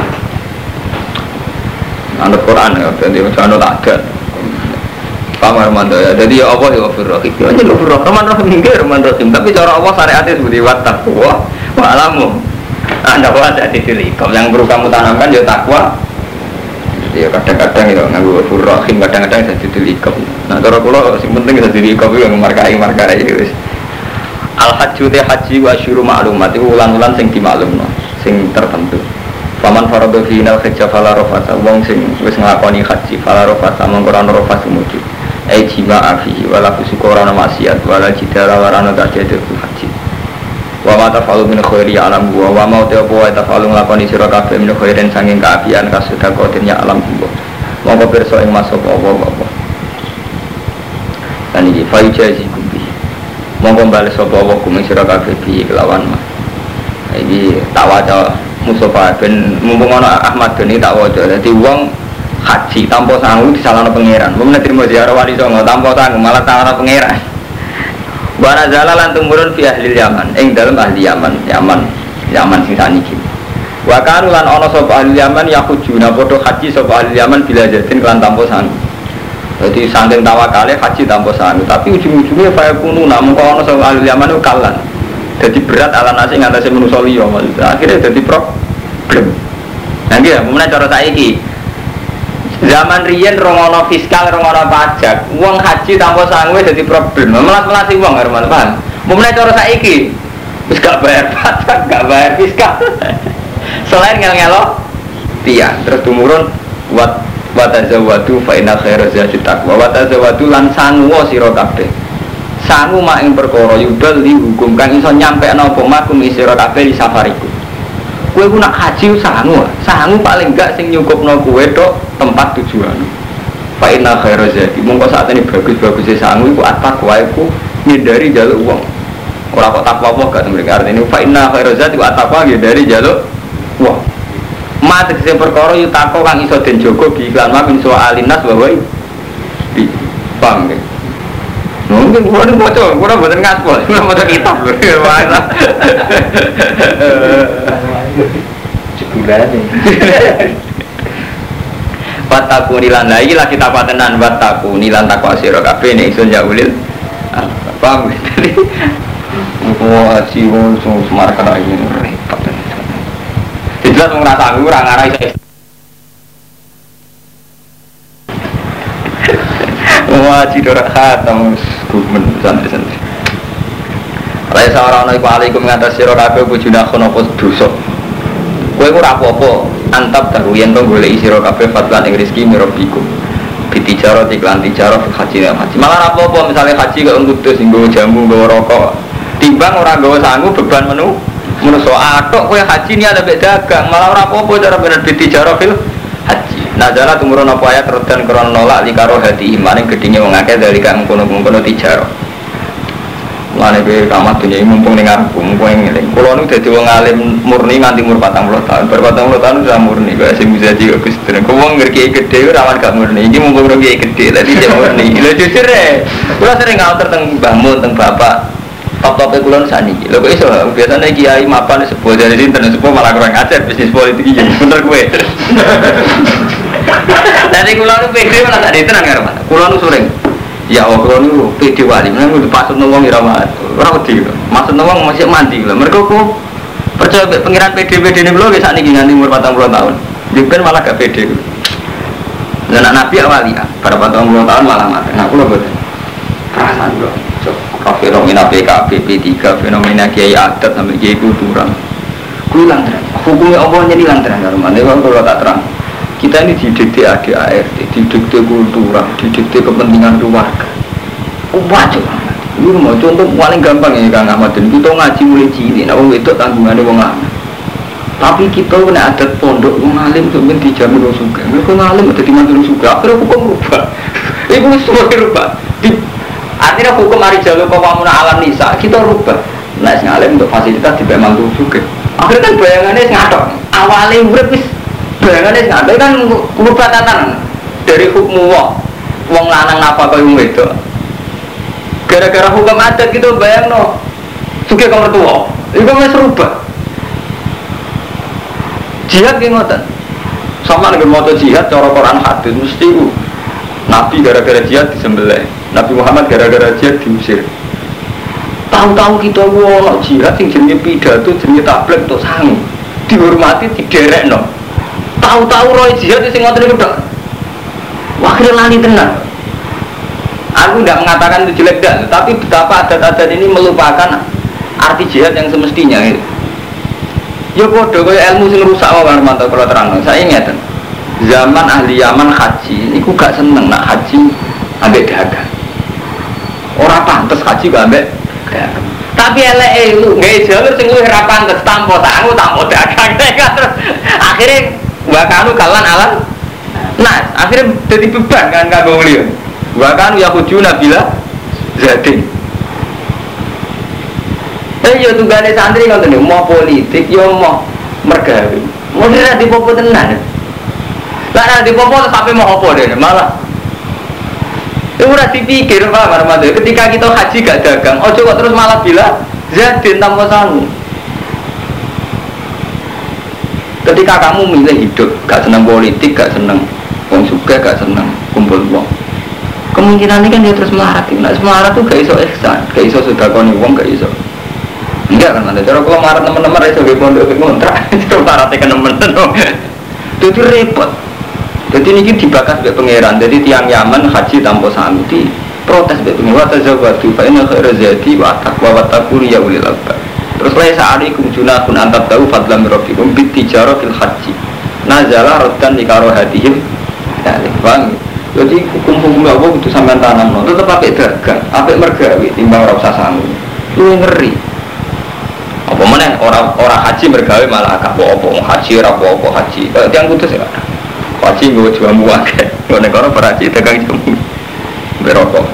Anut Quran ya, jadi macam tak ada. Pamar mando ya, jadi ya Allah ya Ghafurur Rahim. Ya jadi Ghafurur Rahim, Rahim nggih Rahman Rahim. Tapi cara Allah syariatnya seperti wat taqwa wa alamu. Anda wa sadidul iqab. Yang perlu kamu tanamkan ya takwa. Jadi ya kadang-kadang ya nganggo Ghafurur Rahim, kadang-kadang sadidul iqab. Nah cara kula sing penting sadidul iqab itu markai-markai wis. Al hajju te haji wa syuru ma'lumat iku ulan-ulan sing dimaklumno, sing tertentu. Paman faradu fi nal hajja fala rafasa wong sing wis nglakoni haji fala rafasa mongko ora rafasa mujud. Ai jima afihi wala fusuqara maksiat wala jidara warana tajadul haji. Wa ma tafalu min khairi alam wa wa ma ta'abu wa tafalu nglakoni sira kabeh min khairin sanging kaapian kasudakotin ya alam gua. Monggo pirsa ing masuk Allah apa. Lan iki fa ijazi kubi. Monggo bales sapa Allah kuming sira kabeh bi kelawan mah. Iki tak waca Mustafa ben mumpung ana Ahmad Doni tak waca. Dadi wong haji tanpa sanggup disalahno pangeran. Mun nerimo ziarah wali songo tanpa sanggup malah salahno pangeran. Wa nazala lan tumurun fi ahli Yaman, ing dalem ahli Yaman, Yaman, Yaman sing saniki. Wa kanu lan ana sapa ahli Yaman yahujuna padha haji sapa ahli Yaman bila jadin lan tanpa sanggup. Dadi saking tawakale haji tanpa sanggup, tapi ujung-ujungnya fa kunu namung ana sapa ahli Yaman ku kalan. Dadi berat ala nasi ngatasi manusa liya maksudnya. Akhirnya dadi problem. Nah iki ya, mumene cara saiki zaman riyen rongono fiskal, rongono pajak, uang haji tanpa sanggup jadi problem. Melas-melasi uang Herman, paham? Mulai cara saiki, wis gak bayar pajak, gak bayar fiskal. Selain ngel-ngelo, tiang terus tumurun buat wa tazawwadu fa inna khairaz zadi taqwa wa tazawwadu lan sangu sira kabeh sangu mak ing perkara yudal li hukum kang iso nyampekno apa makum sira kabeh di safariku kowe ku nak haji sangu sangu paling enggak sing nyukupno kowe tok tempat tujuan fa inna khairaz zadi mongko sakjane bagus-bagus sangu iku at-taqwa iku ngindari jaluk wong ora kok takwa apa gak mereka artine fa inna khairaz zadi wa at-taqwa ngindari jaluk wong mate sing perkara yu tako kang iso den jaga bi iklan ma min soalinas bahwa di paham nggih mungkin kulo niku maca kulo mboten ngaspol kulo maca kitab lho jebulane Wataku nilan la iki lagi kitab tenan wataku nilan takwa sira kabeh nek iso njaulil paham nggih oh aji wong semar kana iki repot jelas wong rasa aku ora ngarai iso wah cidora khatam gumen santri-santri Lai sarana iku alaikum ngatas sira kabeh bojone kono apa dosa kowe ora apa-apa antap daru yen to goleki sira kabeh fatwan ing rezeki mirabiku bitijaro iklan tijaro haji haji malah apa-apa misale haji kok ngudus nggo jamu nggo rokok timbang ora nggawa sangu beban menu menungso atok kowe haji ni ada dagang malah ora apa-apa cara bener bitijaro fil haji nazala tumurun apa ayat redan krana nolak likaro hati maning gedhinge wong akeh dari kang kono-kono tijaro lane be kamat dunya mumpung ning arep mumpung ngeling kula nu dadi wong alim murni nganti umur patang puluh tahun bar patang puluh tahun sudah murni kok sing bisa iki Gus Dren kok wong ngerti gedhe ora gak murni iki mumpung ora gedhe dadi jek murni lho jujur e kula sering ngatur teng Mbah Mun teng bapak top-tope kula saniki lho kok iso biasane kiai mapan sepuh dari sinten sepuh malah kurang ajar bisnis politik iki bener kowe dadi kula nu pede malah tak ditenan karo kula nu sering ya Allah niku pede wali nang pasut wong ora ora wedi maksud wong masih mandi lho mergo ku percaya mek pengiran pede-pede niku lho wis sakniki nganti umur patang puluh tahun dipen malah gak pede lha anak nabi awali ya bar patang puluh tahun malah mati nah kula boten perasaan kok cok fenomena P K B P tiga fenomena kiai adat sampai kiai kultural kuwi lan terang hukumnya Allah nyeni lan terang karo mane kok tak terang kita ini didikte A D A R T, didikte kultural, didikte kepentingan keluarga. Wajib banget. Ini mau contoh paling gampang ya Kang Ahmad. Kita ngaji mulai cilik, nah wong itu tanggungannya wong alim. Tapi kita kena adat pondok wong alim sampeyan dijamin wong sugih. Mergo alim dadi mantu sugih. Akhire hukum rubah. Iku semua rubah. Artinya hukum hari jalur pemamuna alam nisa kita rubah. Nah sing alim untuk fasilitas dibek mantu sugih. Akhirnya kan bayangannya ngatok. Awale urip wis bayangannya sampai kan merubah tatanan dari hukum wong wong lanang apa kaya wong wedok gara-gara hukum adat gitu bayang no suka ke mertua itu kan serubah jihad ki ngoten sama dengan moto jihad cara Quran hadis mesti ku Nabi gara-gara jihad disembelih Nabi Muhammad gara-gara jihad diusir tahu-tahu kita wong jihad sing jenenge pidato jenenge tabligh tok sangu dihormati diderekno tahu-tahu roy jihad sing ngoten niku tok. Akhire lali tenan. Aku tidak mengatakan itu jelek dah, tapi betapa adat-adat ini melupakan arti jihad yang semestinya. Ya padha kaya ilmu sing rusak wae mantap kula terangno. Saya ngeten. Zaman ahli Yaman haji niku gak seneng nak haji ambek dagang. Ora pantes haji gak ambek dagang. Tapi eleke lu gawe jalur sing luwih ra pantes tanpa sangu tanpa dagang. Akhirnya wakanu kalan alam nah akhirnya jadi beban kan kagak beliau wakanu ya hujuna bila jadi eh yo tunggane santri ngoten mau politik yo mau mergawe mau ora dipopo tenan lah ora dipopo sampai mau apa dene malah itu ora dipikir Pak Marmado ketika kita haji gak dagang ojo kok terus malah bila jadi tanpa sangu. Ketika kamu milih hidup, gak senang politik, gak senang wong suka, gak senang kumpul wong. Kemungkinan ini kan dia terus melarat. Nah, melarat tuh gak iso ihsan, gak iso sedekah nih wong, gak iso. Enggak kan ada. Cara kalau melarat teman-teman iso ge pondok ge kontrak, terus melarat kan teman-teman. Itu repot. Jadi ini dibakar sebagai pangeran. Jadi tiang Yaman haji tanpa sangu di protes sebagai pangeran. Tazawwadu fa inna khairaz zadi wa taqwa wa taqul ya ulil albab. Terus lain sa'alikum junahun antab tahu fadlam rabbikum bitijaro fil haji nazala roddan nikaro hadihim Sekali, bang. Jadi hukum-hukum Allah itu sampai tanam, no. Tetap pakai dagang, pakai mergawi, timbang rasa sanggup. Lu ngeri. Apa mana orang orang haji mergawe malah kapo-opo haji rapo-opo haji. Kalau tiang putus ya. Haji gue jual buang ke. Kalau negara berhaji dagang jamu berokok.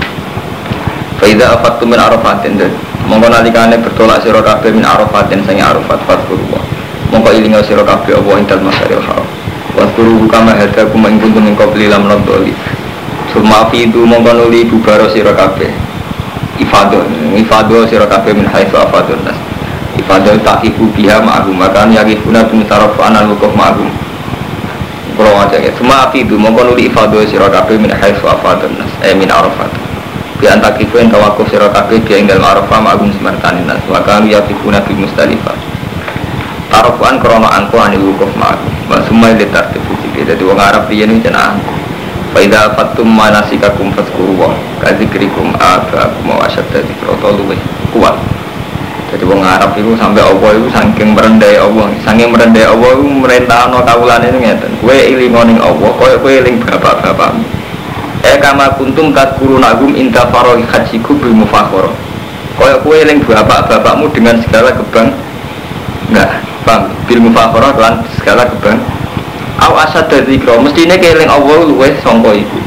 Faida afattu min arafatin dan mongko nalikane bertolak sira kabeh min arafatin sange arafat fatkurwa. Mongko ilinga sira kabeh apa intal masaril haram. Wasguru kama hadakum ing kuntum ing qabli lam nadoli. Suma fidu mongko nuli bubaro sira kabeh. Ifadah, ifadah sira kabeh min haitsu afadun nas. Ifadah taqifu biha ma'hum makan yaqifuna bin saraf anal waqaf ma'hum. Kalau aja ya, suma fidu mongko nuli ifadah sira kabeh min haitsu afadun nas, eh min arafat. Bi antaqifu en tawakuf sira kabeh bi enggal arafah ma'hum semertanin nas. Wa kan yaqifuna bi mustalifah. Tarofuan krono angko anil wukuf ma'akum wa summa li tartibu jadi wong Arab riyen iki jeneng angko fa idza fattum manasikakum fadhkuru ka dzikrikum abakum wa asyadda dzikra luweh kuat jadi wong Arab itu sampai Allah itu saking merendai Allah saking merendai Allah itu merintahno kawulane ngeten kowe ilingo ning Allah koyo kowe eling bapak-bapakmu eh kama kuntum tadkurunagum inta faraghi hajiku bil mufakhara koyo kowe eling bapak-bapakmu dengan segala kebang enggak bang, bil mufakhara lan segala kebang. Aw asad dari kro, mestine keling Allah luweh sangka iku.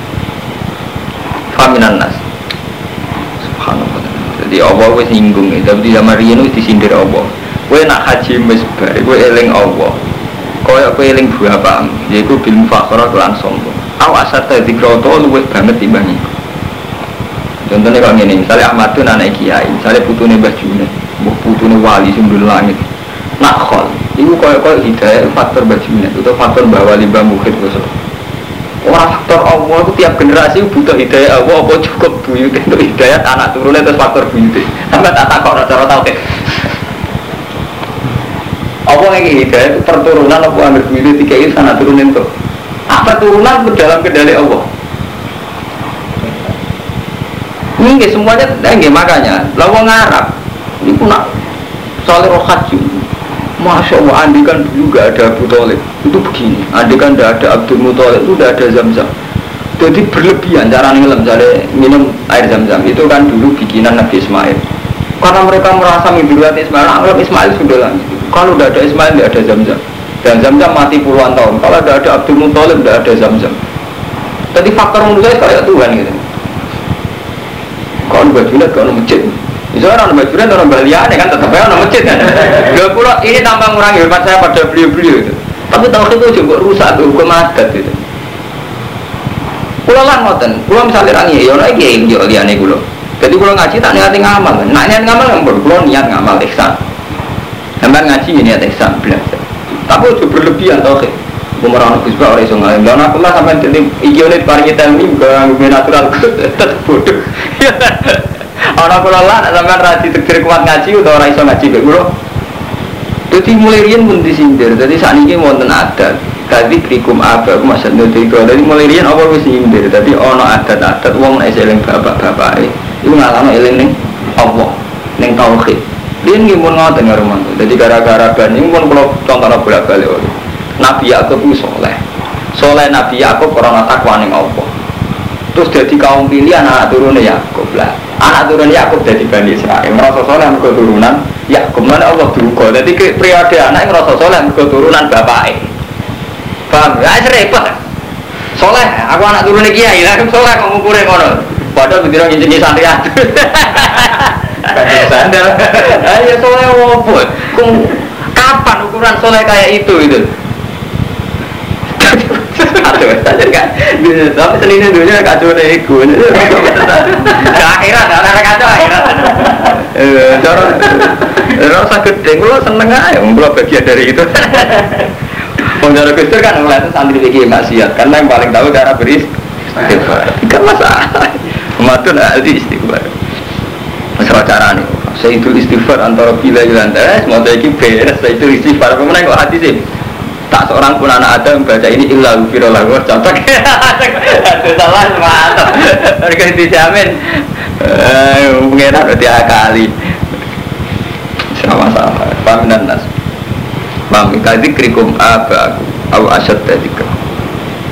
Faminan nas. Subhanallah. Jadi Allah wis nyinggung, tapi zaman riyen wis disindir Allah. Kowe nak haji wis bar, kowe eling Allah. Kaya kowe eling bapakmu, yaiku bil mufakhara lan sangka. Aw asad dari kro to luweh banget timbang iku. Contohnya kalau ngene, misalnya Ahmadun anak kiai, misalnya putune Mbah Junet, mbah putune wali sing ndul langit. Nakhol, itu kaya-kaya hidayah faktor bajunya, itu faktor bahwa limbah mukhid khusus. Orang faktor Allah itu tiap generasi butuh hidayah Allah, apa cukup buyut untuk hidayah anak turunnya terus faktor buyut. Sampai tak takut cara tahu deh. Allah yang hidayah itu perturunan apa ambil buyut tiga ini anak turunin tuh. Apa turunan dalam kendali Allah? Ini semuanya, enggak makanya. Lawan Arab, ini pun nak soal rohat juga. Masya Allah, andikan dulu gak ada Abu Thalib itu begini, andikan gak ada Abdul Muthalib itu gak ada Zam-Zam. Jadi berlebihan cara ngelam, misalnya minum air Zam-Zam itu kan dulu bikinan Nabi Ismail. Karena mereka merasa mimpikan Ismail, anggap Ismail sudah langit. Kalau gak ada Ismail gak ada Zam-Zam. Dan Zam-Zam mati puluhan tahun. Kalau gak ada Abdul Muthalib gak ada Zam-Zam. Jadi faktor menurut saya kayak Tuhan gitu. Kalau bajunya kalau masjid. Misalnya orang bajuran orang baliane kan tetap aja orang masjid kan. Dua pulau ini tanpa mengurangi hormat saya pada beliau-beliau itu. Tapi tahu itu juga rusak tuh hukum adat itu. Pulau lah ngoten, pulau misalnya orang ya orang ini yang liane pulau. Jadi pulau ngaji tak niat ngamal, nak niat ngamal yang pulau niat ngamal ihsan. Sampai ngaji niat ihsan belajar. Tapi itu berlebihan tahu ke. Pemeran kusba orang sungai. Dan aku lah sampai jadi ijolnya paling kita ini bukan natural tetap bodoh. Orang pulau lah sampai rasi tegir kuat ngaji atau orang iso ngaji ke pulau. Jadi mulai rian pun disindir. Jadi saat ini wonten adat. Tadi krikum apa? Aku masih nanti kalau dari mulai rian apa harus disindir. Jadi ono adat-adat. Wong nak eling bapak-bapak. Itu ngalami eling neng Allah, neng tauhid. Rian gimana ngotot ngaruman. Jadi gara-gara ban ini pun kalau contohnya bolak balik. Nabi Yakub itu soleh. Soleh Nabi Yakub orang takwa neng Allah. Terus jadi kaum pilihan anak turunnya Yakub lah. Anak turun Yakub jadi Bani Israil. Merasa soleh mereka turunan Yakub. Mana Allah duga. Jadi periode anak merasa soleh mereka turunan bapaknya. Paham? Ya repot. Soleh, aku anak turunnya kiai. Lah soleh kamu kurang ngono. Padahal begitu ngisi santri aja. Bani sandal. Ayo soleh wopo. Kapan ukuran soleh kayak itu itu? Aduh, saja kan. Tapi senine dunia kacau deh ikut. Akhirat, anak kacau akhirat. Eh, cara rasa gede, lo seneng aja, lo bagian dari itu. Penjara Gustur kan mulai itu santri lagi maksiat, karena yang paling tahu cara beristighfar. Tidak masalah. Matun ahli istighfar. Masalah cara nih. Saya itu istighfar antara bila dan tes, mau lagi beres. Saya itu istighfar. Kemudian kok hati sih? Tak seorang pun anak Adam baca ini illa ghufirallah. Contoh aduh salah mantap. Mereka dijamin eh pengenan berarti akali sama-sama paminan nas mami kadzikrikum aba aku au asyad dzikr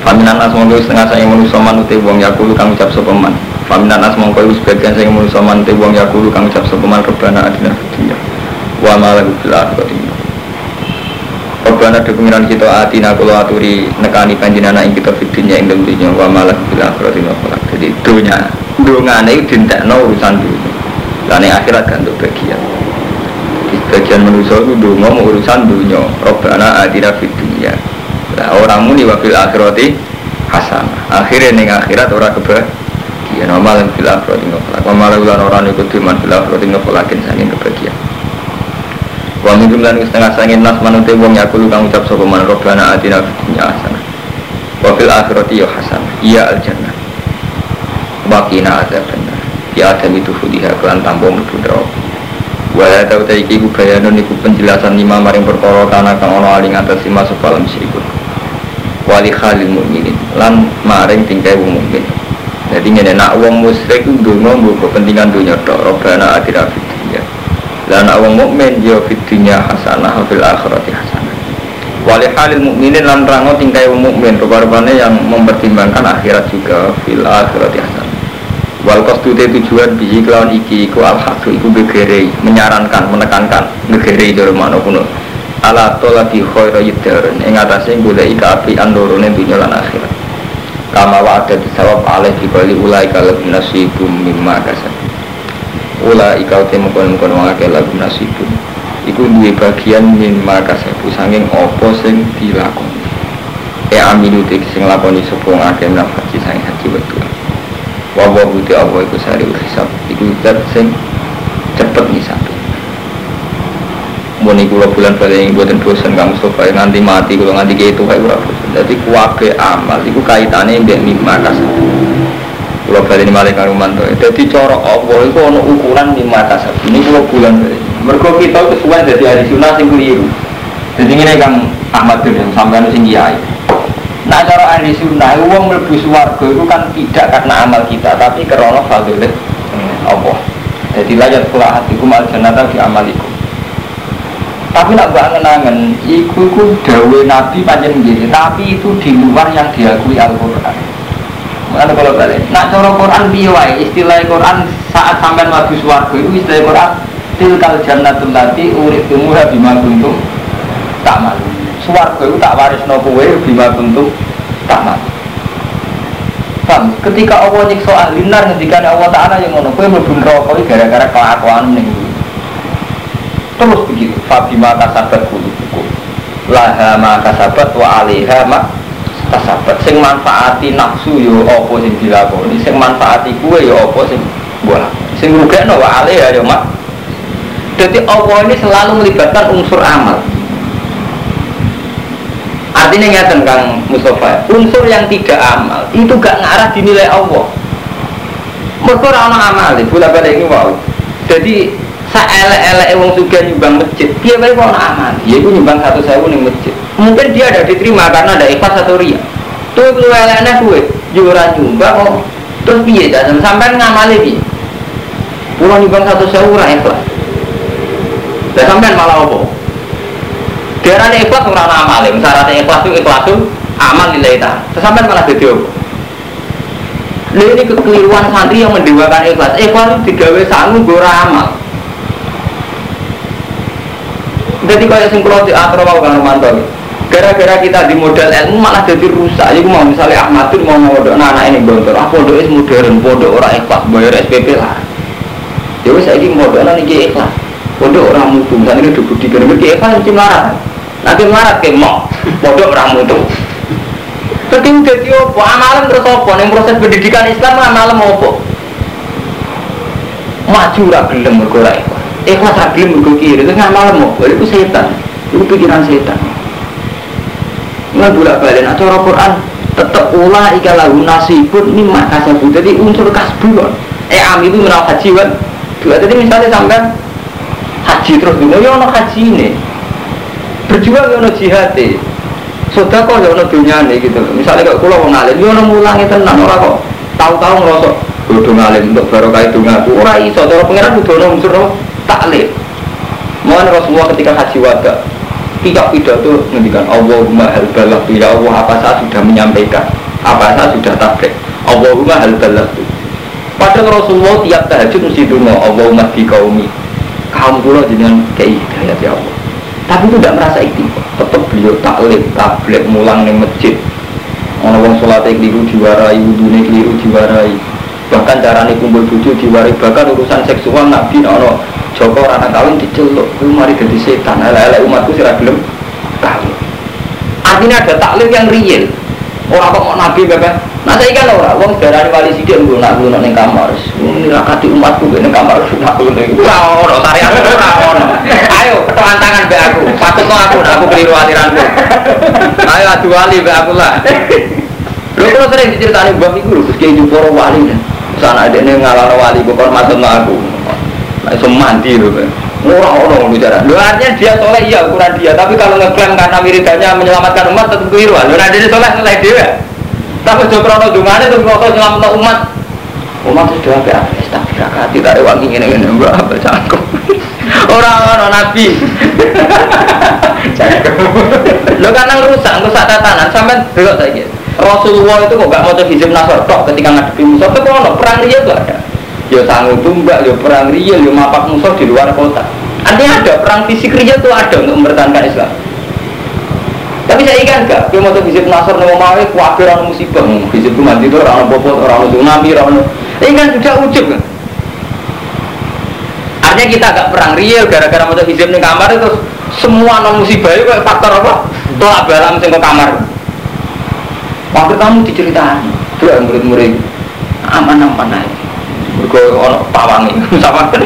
Faminan as mongko setengah saya manusa manute wong yakulu kang ucap sapa man. Faminan as mongko sebagian saya manusa manute wong yakulu kang ucap sapa man rebana adina dunya. Wa malahu fil akhirati. Rebana de pengiran kita atina kula aturi nekani panjenengan ing kita fidunya ing dalem dunya wa malahu fil akhirati. Jadi dunya dongane dintekno urusan dunya. Lan akhirat kan untuk bagian. Bagian manusia itu dongo mau urusan dunia. Rabbana atina fid dunya. Lah orang muni wa fil akhirati hasanah. Akhire ning akhirat ora kebahagiaan. Amal fil akhirati ngoflak. Amal ulan orang ikut iman fil akhirati ngoflakin saking kebahagiaan. Wa min jumlah setengah saking nas manute wong yakulu kang ucap sapa man Rabbana atina fid dunya hasanah. Wa fil akhirati ya hasanah. Iya al jannah. Wa qina adzabannar. Ya adam itu fudiha kelan tampo mlebu neraka. Wala tau ta iki ku bayanon iku penjelasan lima maring perkara kana kang ana aling atas lima sepalam sirikut. Wali khalil mukminin lan maring tingkai wong mukmin. Dadi ngene nak wong musyrik ku ndonga nggo kepentingan dunya tok, Rabbana atina fid dunya. Lan nak wong mukmin ya fid dunya hasanah fil akhirati hasanah. Wali khalil mukminin lan rango tingkai wong mukmin rupa-rupane yang mempertimbangkan akhirat juga fil akhirati hasanah. Wal qasdute tujuan biji kelawan iki iku al-hasu iku gegere menyarankan menekankan gegere jare makna kuno ala tolabi khairu yidaren ing atase golek api andorone dunya lan akhirat kama wa ada disawab alih dibali ulai kalau nasibum mimma kasab ulai kau temu kon-kon wong akeh lagu nasibum iku duwe bagian mimma kasab sanging apa sing dilakoni e amilu sing lakoni sapa akeh nafsi sanging haji wetu. Wawa buti Allah iku sari hisab iku zat sing cepet ngisapi. Muni kula bulan bali ing boten bosen kang Mustofa nganti mati kula nganti kitu kae ora bosen. Dadi kuwabe amal iku kaitane mbek mimma kasab. Kula bali malih karo mantu. Dadi cara Allah iku ana ukuran mimma kasab. Ini kula bulan bali. Mergo kita kesuwen dadi ahli sunah sing keliru. Dadi ngene Kang Ahmad yang sampeyan sing kiai. Nah cara ahli sunnah, uang mlebu swarga itu kan tidak karena amal kita, tapi karena fadillah Allah. Jadi layak pula hatiku mal jannata fi amalikum. Tapi nak mbak ngenangen, iku ku dawe Nabi panjang gini, tapi itu di luar yang diakui Al-Quran. Mana kalau balik? Nak cara Quran biwai, istilah Quran saat sampai mlebu swarga itu istilah Quran tilkal jannatul lati uritumuha bima kuntum ta'mal. Swarga itu tak warisno kowe bima kuntum ta'mal. Paham? Ketika Allah nyiksa ahli nar ngendikane Allah Ta'ala yang ngono kowe mlebu neraka iki gara-gara kelakuan ning iki. Terus begitu, fa bima kasabat qulubukum. Laha ma kasabat wa 'alaiha ma kasabat. Sing manfaati nafsu yo apa sing dilakoni, sing manfaati kowe yo apa sing mbok lakoni. Sing rugekno wa 'alaiha yo mak. Jadi Allah ini selalu melibatkan unsur amal. Artinya ngeten Kang Mustafa, unsur yang tidak amal itu gak ngarah dinilai Allah. Mergo ora ana amal, bola-balik iki wae. Jadi saelek-eleke wong sugih nyumbang masjid, piye wae kok ana amal. Ya iku nyumbang seratus ribu ning masjid. Mungkin dia ada diterima karena ada ikhlas atau riya. Tuh kuwi elekne kuwe, yo ora nyumbang kok. Terus piye dan sampean ngamali iki? Kulo nyumbang seratus ribu ora ikhlas. Lah sampean malah apa? Diarani ikhlas ora ana amale, syaratnya ikhlas itu ikhlasul amal lillahi ta'ala. Sampeyan malah dadi opo? Lha ini kekeliruan santri yang mendewakan ikhlas. Ikhlas itu digawe sangu nggo ora amal. Jadi kaya sing kula diatur wae karo mantu. Gara-gara kita di modal ilmu malah jadi rusak. Iku mau misalnya Ahmadun mau mondok anak ini gontor. Ah pondok is modern, pondok ora ikhlas, bayar S P P lah. Ya wis saiki mondokan iki ikhlas. Pondok ora mutu, sakjane dibudi kene iki ikhlas mesti melarat. Nanti melarat ke mau, bodoh orang mutu. Jadi jadi apa? Amalan terus apa? Yang proses pendidikan Islam amalan apa? Maju rak gelem bergerak. Ikhlas rak gelem bergerak kiri. Itu amalan apa? Itu setan. Itu pikiran setan. Nggak bolak balik. Nah cara Quran tetap ulah ikalahu nasibun mimma kasabu. Jadi unsur kasbun. Eh am itu menau haji kan? Jadi misalnya sampai haji terus dulu, ya ono haji ini. Berjuang ya ono jihad e. Sedekah ya ono dunyane gitu. Misale kok kula wong alim ya ono mulange tenan ora kok tahu-tahu ngrasa kudu ngalim untuk barokah dongaku. Ora iso cara pangeran kudu ono unsur taklif. Mohon Rasulullah ketika haji wada. Kitab pidato ngendikan Allahumma hal balagtu, ya Allah apa saya sudah menyampaikan, apa saya sudah tabligh. Allahumma hal balagtu. Padahal Rasulullah tiap tahajud mesti donga Allahumma bi qaumi. Kaum kula jenengan kei hidayah ya Allah. Tapi itu tidak merasa ikhtiar. Tetap beliau taklim, tabligh mulang ning masjid. Ana wong salate keliru diwarai, wudune keliru diwarai. Bahkan carane kumpul bojo diwarai, bahkan urusan seksual Nabi ana Joko anak kawin diceluk, itu mari jadi setan. Elek-elek umatku sira gelem kawin. Artinya ada taklim yang real. Orang kok mau nabi bapak. Nah saya kan orang, wong darani wali sidik nggo nak ngono ning kamar. Ini rakati umatku ning kamar nak ngono iki. Ora ono syariat ora ono. Ayo ketuan tangan mbek aku. Patutno aku nak aku keliru aliranku. Ayo adu wali mbek aku lah. Lho kok sering diceritani mbah iku lho, Gusti Juporo wali. Sana adene ngalahno wali kok hormatno aku. Nah, iso mandi lho, Pak. Ora ono ngono cara. Lho artinya dia soleh iya ukuran dia, tapi kalau ngeklaim karena wiridannya menyelamatkan umat tetap keliru. Lho nek dia soleh soleh dhewe. Tapi jo krono dungane terus krono nyelametno umat. Umat sudah apa? Astagfirullah, tidak ada wangi ngene-ngene mbak apa cangkem. Ora ono nabi. Cangkem. Lho karena rusak, rusak tatanan sampean delok saiki. Rasulullah itu kok gak mau hizib nasor tok ketika ngadepi musuh. Itu ono perang dia itu ada. Ya sanggup tumbak, ya perang real, ya mapak musuh di luar kota. Artinya ada perang fisik real itu ada untuk mempertahankan Islam. Tapi saya ikan enggak, dia mau hizib nasor nama mawai, kuatir orang musibah. Hizib itu mati itu orang bobot, orang tsunami, orang ini kan sudah ujub kan. Artinya kita agak perang real gara-gara mau hizib di kamar itu semua non musibah itu faktor apa? Tolak balam sing ke kamar. Waktu kamu diceritain, tuh murid-murid aman-aman aja. Berko ono pawangi sama kan.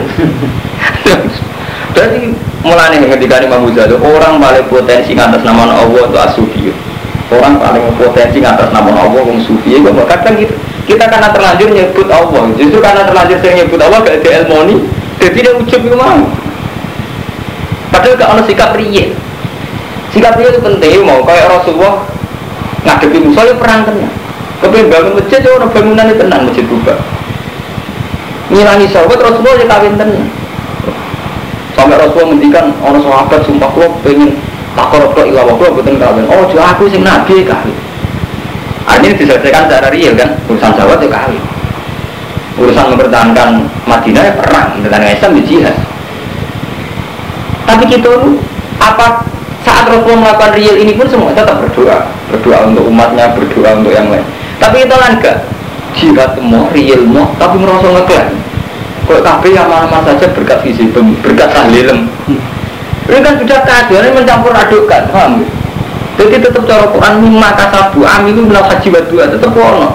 Jadi mulane ketika Imam Ghazali orang paling potensi atas nama Allah itu as-sufi. Orang paling potensi atas nama Allah wong sufi. Kadang kita kita karena terlanjur nyebut Allah. Justru karena terlanjur sering nyebut Allah gak ada ilmu. Jadi dia ujub itu mau. Padahal gak ono sikap riya. Sikap riya itu penting mau kayak Rasulullah ngadepi musuh perang tenang. Kepen bangun masjid orang bangunan itu tenang masjid Kuba. Ngilangi sahabat Rasulullah ya kawin tenang. Sampai Rasulullah mendikan orang sahabat sumpah kula pengen takor kok ila waktu mboten kawin. Oh, jo aku sing nabi kawin. Artinya diselesaikan secara real kan, urusan sahabat ya kawin. Urusan mempertahankan Madinah ya perang, mempertahankan Islam ya jihad. Tapi kita apa saat Rasulullah melakukan real ini pun semua tetap berdoa, berdoa untuk umatnya, berdoa untuk yang lain. Tapi kita kan enggak jihad mau, real mau, tapi merasa ngeklaim. Kok kabeh yang mana saja berkat visi, berkat tahlilem. Ini kan sudah keadaan ini mencampur adukkan, paham? Jadi tetap cara Quran mimma kasabu amilu minal haji wa du'a tetap ono.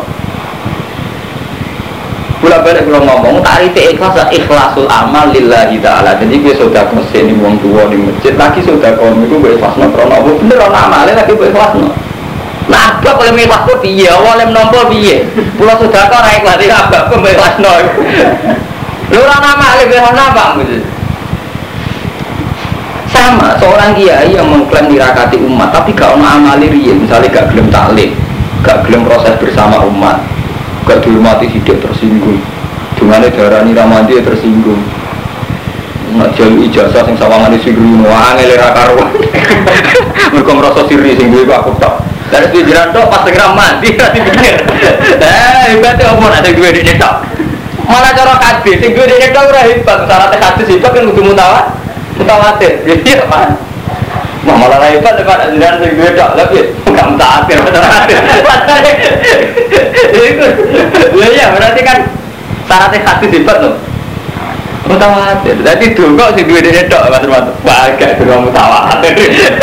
Bola balik kalau ngomong tarif ikhlas ikhlasul amal lillahi ta'ala. Jadi gue sudah kesen di wong tua di masjid lagi sudah kau itu gue ikhlasno krono apa bener ono amale lagi gue ikhlasno. Nah, apa kalau ikhlas kok piye? Awale menompo piye? Pulau sudah kau ra ikhlas iki abak gue ikhlasno. Lho ora amale gue ono apa gitu. Sama seorang kiai yang mengklaim dirakati umat tapi gak ono amali riya, misalnya gak gelem taklim, gak gelem proses bersama umat, gak dihormati sidik tersinggung, dengan darani ramadi tersinggung, nak jalur ijazah sing sawangan isi guru angel ra karuan, mereka merasa siri sing gue aku tak, dari pikiran tok pas segera mati nanti pikir, eh hebatnya apa nanti gue di netok, malah cara kadis, sing gue di netok ora hebat, syaratnya kadis hebat kan kudu mutawat. Mutawatir, jadi apa? Malah hebat depan ajaran sing duwe tok, tapi enggak mutawatir, mutawatir. Itu, ya berarti kan syaratnya hadis hebat loh. Mutawatir, jadi dulu sing duwe dene tok, Mas Mat. Bagai dulu mutawatir.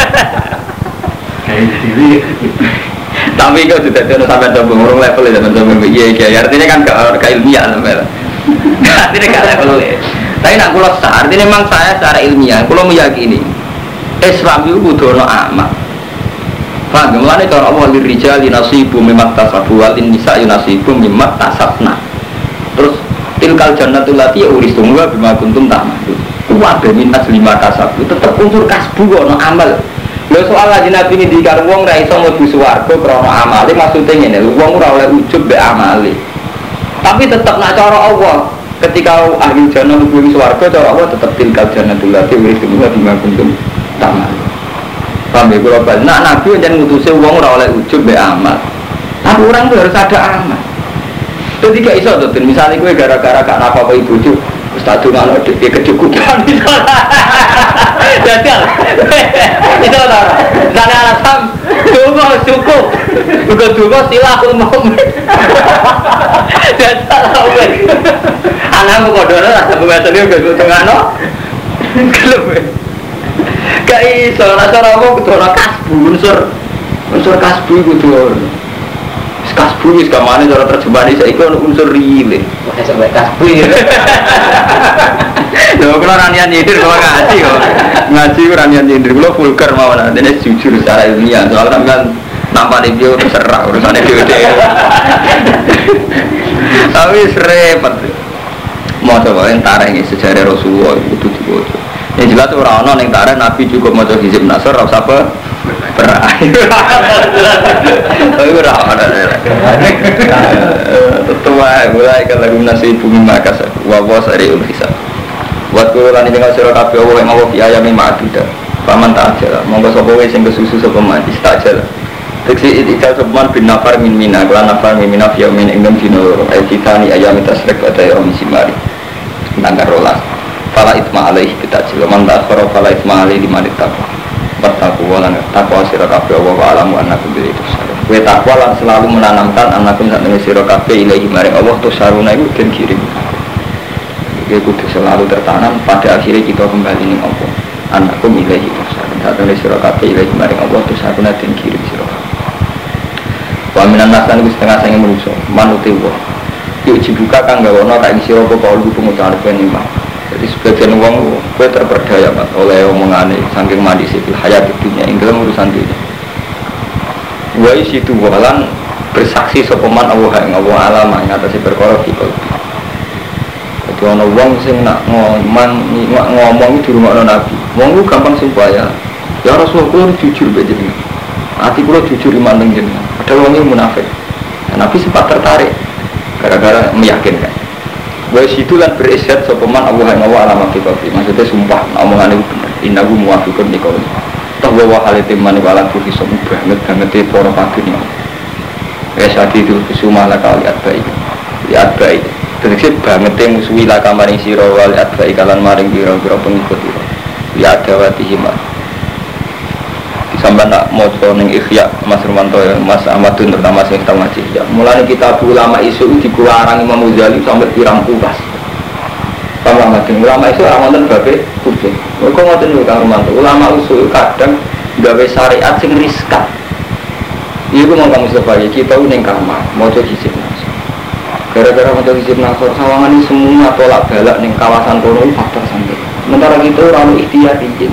Tapi kok sudah ada sampai coba ngurung level ya teman-teman. Iya, iya, artinya kan gak ilmiah sampai. Artinya gak level ya. Tapi nak kulo sah, artinya memang saya secara ilmiah, kulo meyakini Islam itu kudu ono amal. Paham? Mulane cara Allah lirijali nasibu mimmat tasabu wal nisa'i nasibu mimmat tasabna. Terus tilkal jannatul lati uristum wa bima kuntum ta'malun. Kuwabe mintas lima kasabu tetep unsur kasbu ono amal. Lha soal lagi nabi ngendikan wong ra iso mlebu swarga krana amale, maksude ngene, wong ora oleh ujub mbek amale. Tapi tetep nak cara Allah ketika ahli jannah mlebu swarga cara Allah tetap tilkal jannatul lati uristum wa bima kuntum ta'malun. Paham ya kalau balik. Nah Nabi yang ngutusnya uang ora oleh ujub be amal. Tapi orang tuh harus ada amal. Jadi gak iso tuh. Misalnya gue gara-gara gak apa-apa ibu tuh. Ustaz tuh nggak ada dia kecukupan. Jajal. Itu lah. Sana alasan. Tunggu cukup. Bukan tunggu silahul mau. Jajal lah. Anakmu kodoro rasa pembahasan dia gak tengah no. Kelep. Gak iso, rasa apa kedua kasbu, unsur unsur kasbu itu tuh kasbu itu kemana cara terjemahan ini, saya ikut unsur rile makanya sampai kasbu ya loh, kalau ranian nyindir, kalau ngaji kok ngaji ranian nyindir, kalau vulgar mau nanti jujur secara ilmiah, soalnya kan nampak di video terserah, urusannya dia tapi serempet mau coba yang tareng sejarah Rasulullah itu juga yang jelas orang-orang yang tareng Nabi juga mau coba hizib nasr, rasa apa? Berai tapi orang-orang tetua mulai ke lagu nasi bumi makas wawas dari ulisa buat kulan ini dengan surah kafe Allah yang Allah ayami ma'adudah paman tak aja lah monggo sopawe sing kesusu sopaman istajal teksi itikal sopaman bin nafar min mina kelan nafar min mina fiyamin ingdom dino ayatitani ayami tasrek badai romi simari tanggar rolas fala itma alaih bitajil man tak khoro fala itma alaih dimanit takwa bertakwa lan takwa sira kabeh wa alamu annakum bi tusarun kowe takwa lan selalu menanamkan annakum sak temene sira kabeh ilahi maring Allah tusaruna iku den kirim iki kudu selalu tertanam pada akhirnya kita kembali ning Allah annakum ilahi tusarun sak temene sira kabeh ilahi maring Allah tusaruna den kirim sira wa minan nasan iku setengah sange manusa manuti wa yuk dibuka kang gawono kae sira apa kaulu pengucapan penimah. Jadi sebagian uang gue terperdaya mas oleh omongane saking mandi sipil hayat dunia ini dalam urusan dunia. Gue situ walan bersaksi sopeman Allah yang Allah alama yang atas berkorok di kalbi. Jadi orang uang sing nak ngomong ngomong di rumah Nabi. Uang lu gampang sumpah ya. Ya Rasulullah jujur begini. Hati gue jujur iman dengan jenengan. Padahal uangnya munafik. Nabi sempat tertarik gara-gara meyakinkan. Gue situ lan berisyad sopeman Allah yang Allah alama fitofi. Maksudnya sumpah, omongan itu benar. Innahu muwafiqun di kauli. Toh bahwa hal itu mani walan tuh bisa banget banget di poro pagi nih. Ya saat itu kesumah lah kali baik, lihat baik. Terus banget yang musuhi lah kamaring siro wal lihat baik kalan maring biro biro pengikut itu. Lihat dawati himar. Sampai nak mau neng ikhya Mas Rumanto ya Mas Ahmadun terutama sing kita ngaji ya mulai kita ulama isu dikularang Imam Ghazali sampai pirang pulas ulama ulama isu orang nonton babe kudu kok ngoten lho Kang Rumanto ulama isu kadang gawe syariat sing riskan iku mau Kang Mustafa ya kita ning kamar maca hizib nasor gara-gara maca hizib nasor sawangan ini semua tolak balak ning kawasan kono faktor sampai sementara kita orang ikhtiar izin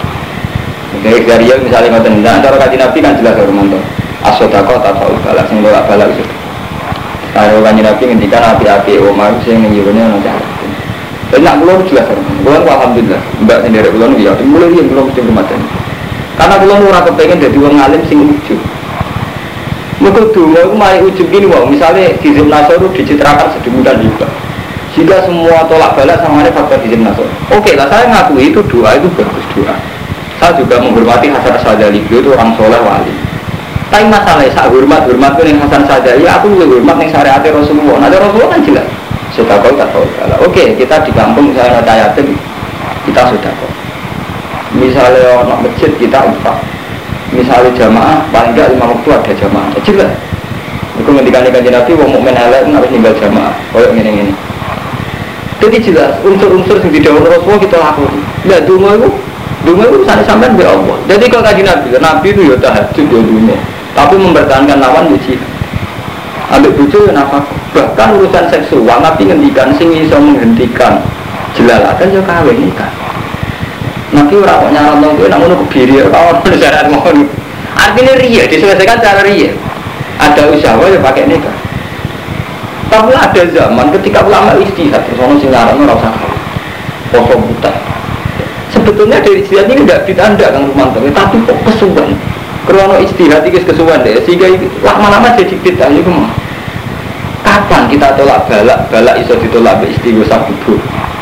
dari dari misalnya ngoten nah cara kaji Nabi kan jelas Romanto as-sodaqah tafa'ul balak sing tolak balak itu kalau kaji Nabi ngendikan api-api Umar sing njurune ana cara tapi nak kula jelas Romanto kula alhamdulillah mbak sendiri kula ya mulai yang kula mesti rumahan karena kula ora kepengin dadi wong alim sing ujug muga donga iku mari ujug gini wae misale hizib nasor dicitrakan sedemikian juga jika semua tolak balak sama ada faktor hizib nasor oke lah saya ngakui itu doa itu bagus doa. Saya juga menghormati Hasan Sadali, beliau itu orang soleh wali. Tapi masalahnya saya hormat hormat ke Hasan Sadali, aku juga hormat yang syariat Rasulullah. Nanti Rasulullah kan jelas. Sudah kau tak tahu. Oke, kita di kampung misalnya ada yatim, kita sudah kau. Misalnya orang masjid kita infak. Misalnya jamaah, paling tidak lima waktu ada jamaah. Jelas. Aku ngendikan ikan Nabi, wong mukmin elek harus tinggal jamaah. Kayak gini-gini. Jadi jelas unsur-unsur yang tidak Rasulullah kita lakukan. Lihat dulu itu. Dungu itu sana sampai be Allah. Jadi kalau kaji Nabi, Nabi itu ya tahajud ya dungu. Tapi mempertahankan lawan uji. Ambil bucu ya nafkah. Bahkan urusan seksual Nabi ngendikan sing iso menghentikan jelalatan ya kawin nikah. Nabi ora kok nyaran nang kowe nak ngono kebiri kawon syarat mohon. Artinya riya diselesaikan cara riya. Ada usaha ya pakai nikah. Tapi ada zaman ketika ulama istihad terus ono sing nyaran ora usah kawin. Poso buta. Sebetulnya dari istihad ini tidak ditanda Kang Rumanto, tapi kok kesuwan. Karena istihad itu kesuwan deh, sehingga lama-lama jadi bid'ah itu mah. Kapan kita tolak balak, balak iso ditolak be istighosa kubur.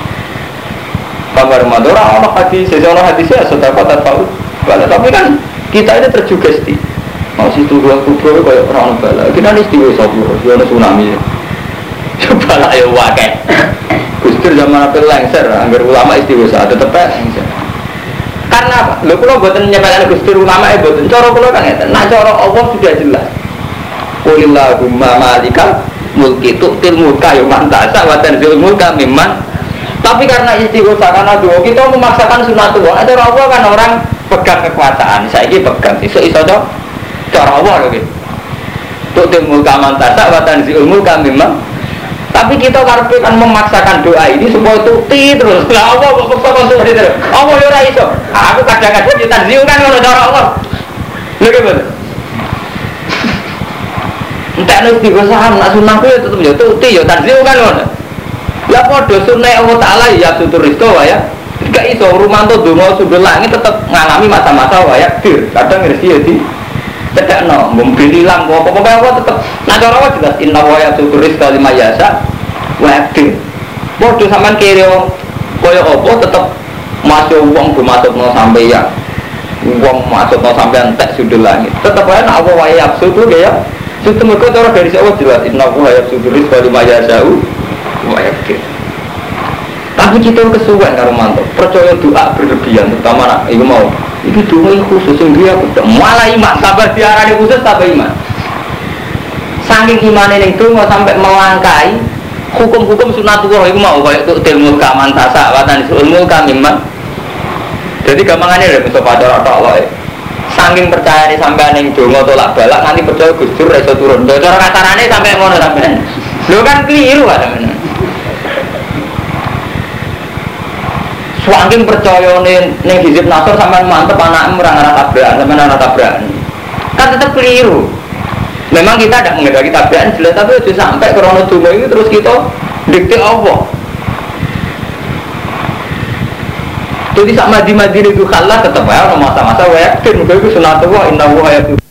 Kabar Rumanto orang hadis, sesuatu hadisnya sudah kota tahu. Balak tapi kan kita ini terjugesti. Masih tunggu aku bro kayak orang bala. Kita ini istiwa sopo, istiwa tsunami. Coba lah ya wakai. Gustur zaman apa lengser, anggar ulama istiwa saat tetep lengser. Karena apa? Lho kula mboten nyepelane Gustur ulama e mboten. Cara kula kan ngeten. Nah cara Allah sudah jelas. Qulillahumma malikal mulki tu'til mulka ya man ta'sa wa tanzilul mulka mimman. Tapi karena istighosa karena doa kita memaksakan sunatullah. Ada Allah kan orang pegang kekuasaan. Saiki pegang iso-iso to cara Allah lho iki. Tu'til mulka man ta'sa wa tanzilul mulka mimman. Tapi kita karepe kan memaksakan doa ini supaya tuti terus. Lah Allah kok paksa kon tuti terus. Allah yo ora iso. Aku kadang-kadang yo tanzil kan ngono cara Allah. Lho ki bener. Entek nek digosaham nak sunah ku yo tetep yo tuti yo tanzil kan ngono. Lah padha sunah Allah Taala ya tutur rizqa ya. Gak iso rumanto donga sundul langit tetep ngalami masa-masa waya dir. Kadang rezeki ya di bedakno, mungkin hilang apa-apa apa tetep. Nah cara Allah jelas inna wa ya tutur rizqa lima yasa wa dir. Padha sampean kiri kaya apa tetep masuk wong go masukno sampai ya. Wong masukno sampai entek sundul langit. Tetep wae nek apa wae absurd ya. Sistem mereka cara dari Allah jelas inna wa ya tutur rizqa lima yasa wa dir. Tapi kita kesuwen karo mantuk, percaya doa berlebihan, terutama nak iku mau. Iki doa khusus sing dia aku malah iman, sabar diarani khusus tapi iman. Saking imane ning donga sampai melangkai hukum-hukum sunatullah iku mau kaya tuk ilmu kamantasa watan ilmu kamiman. Jadi gampangane lho iso padha tok wae. Saking percayane sampean ning donga tolak balak nganti percaya Gustur iso turun. Cara kasarane sampai ngono sampean. Lho kan keliru kan sampean. Saking percaya ning ning hizib nasor sampean mantep anakmu ora ngarah tabrakan, sampean ora tabrakan. Kan tetep keliru. Memang kita tidak mengendaki tabrakan jelas tapi sudah sampai krono donga ini terus kita dikte Allah. Jadi sak madi-madi itu kalah tetep ya masa-masa wae. Mungkin itu sunatullah inna wa ya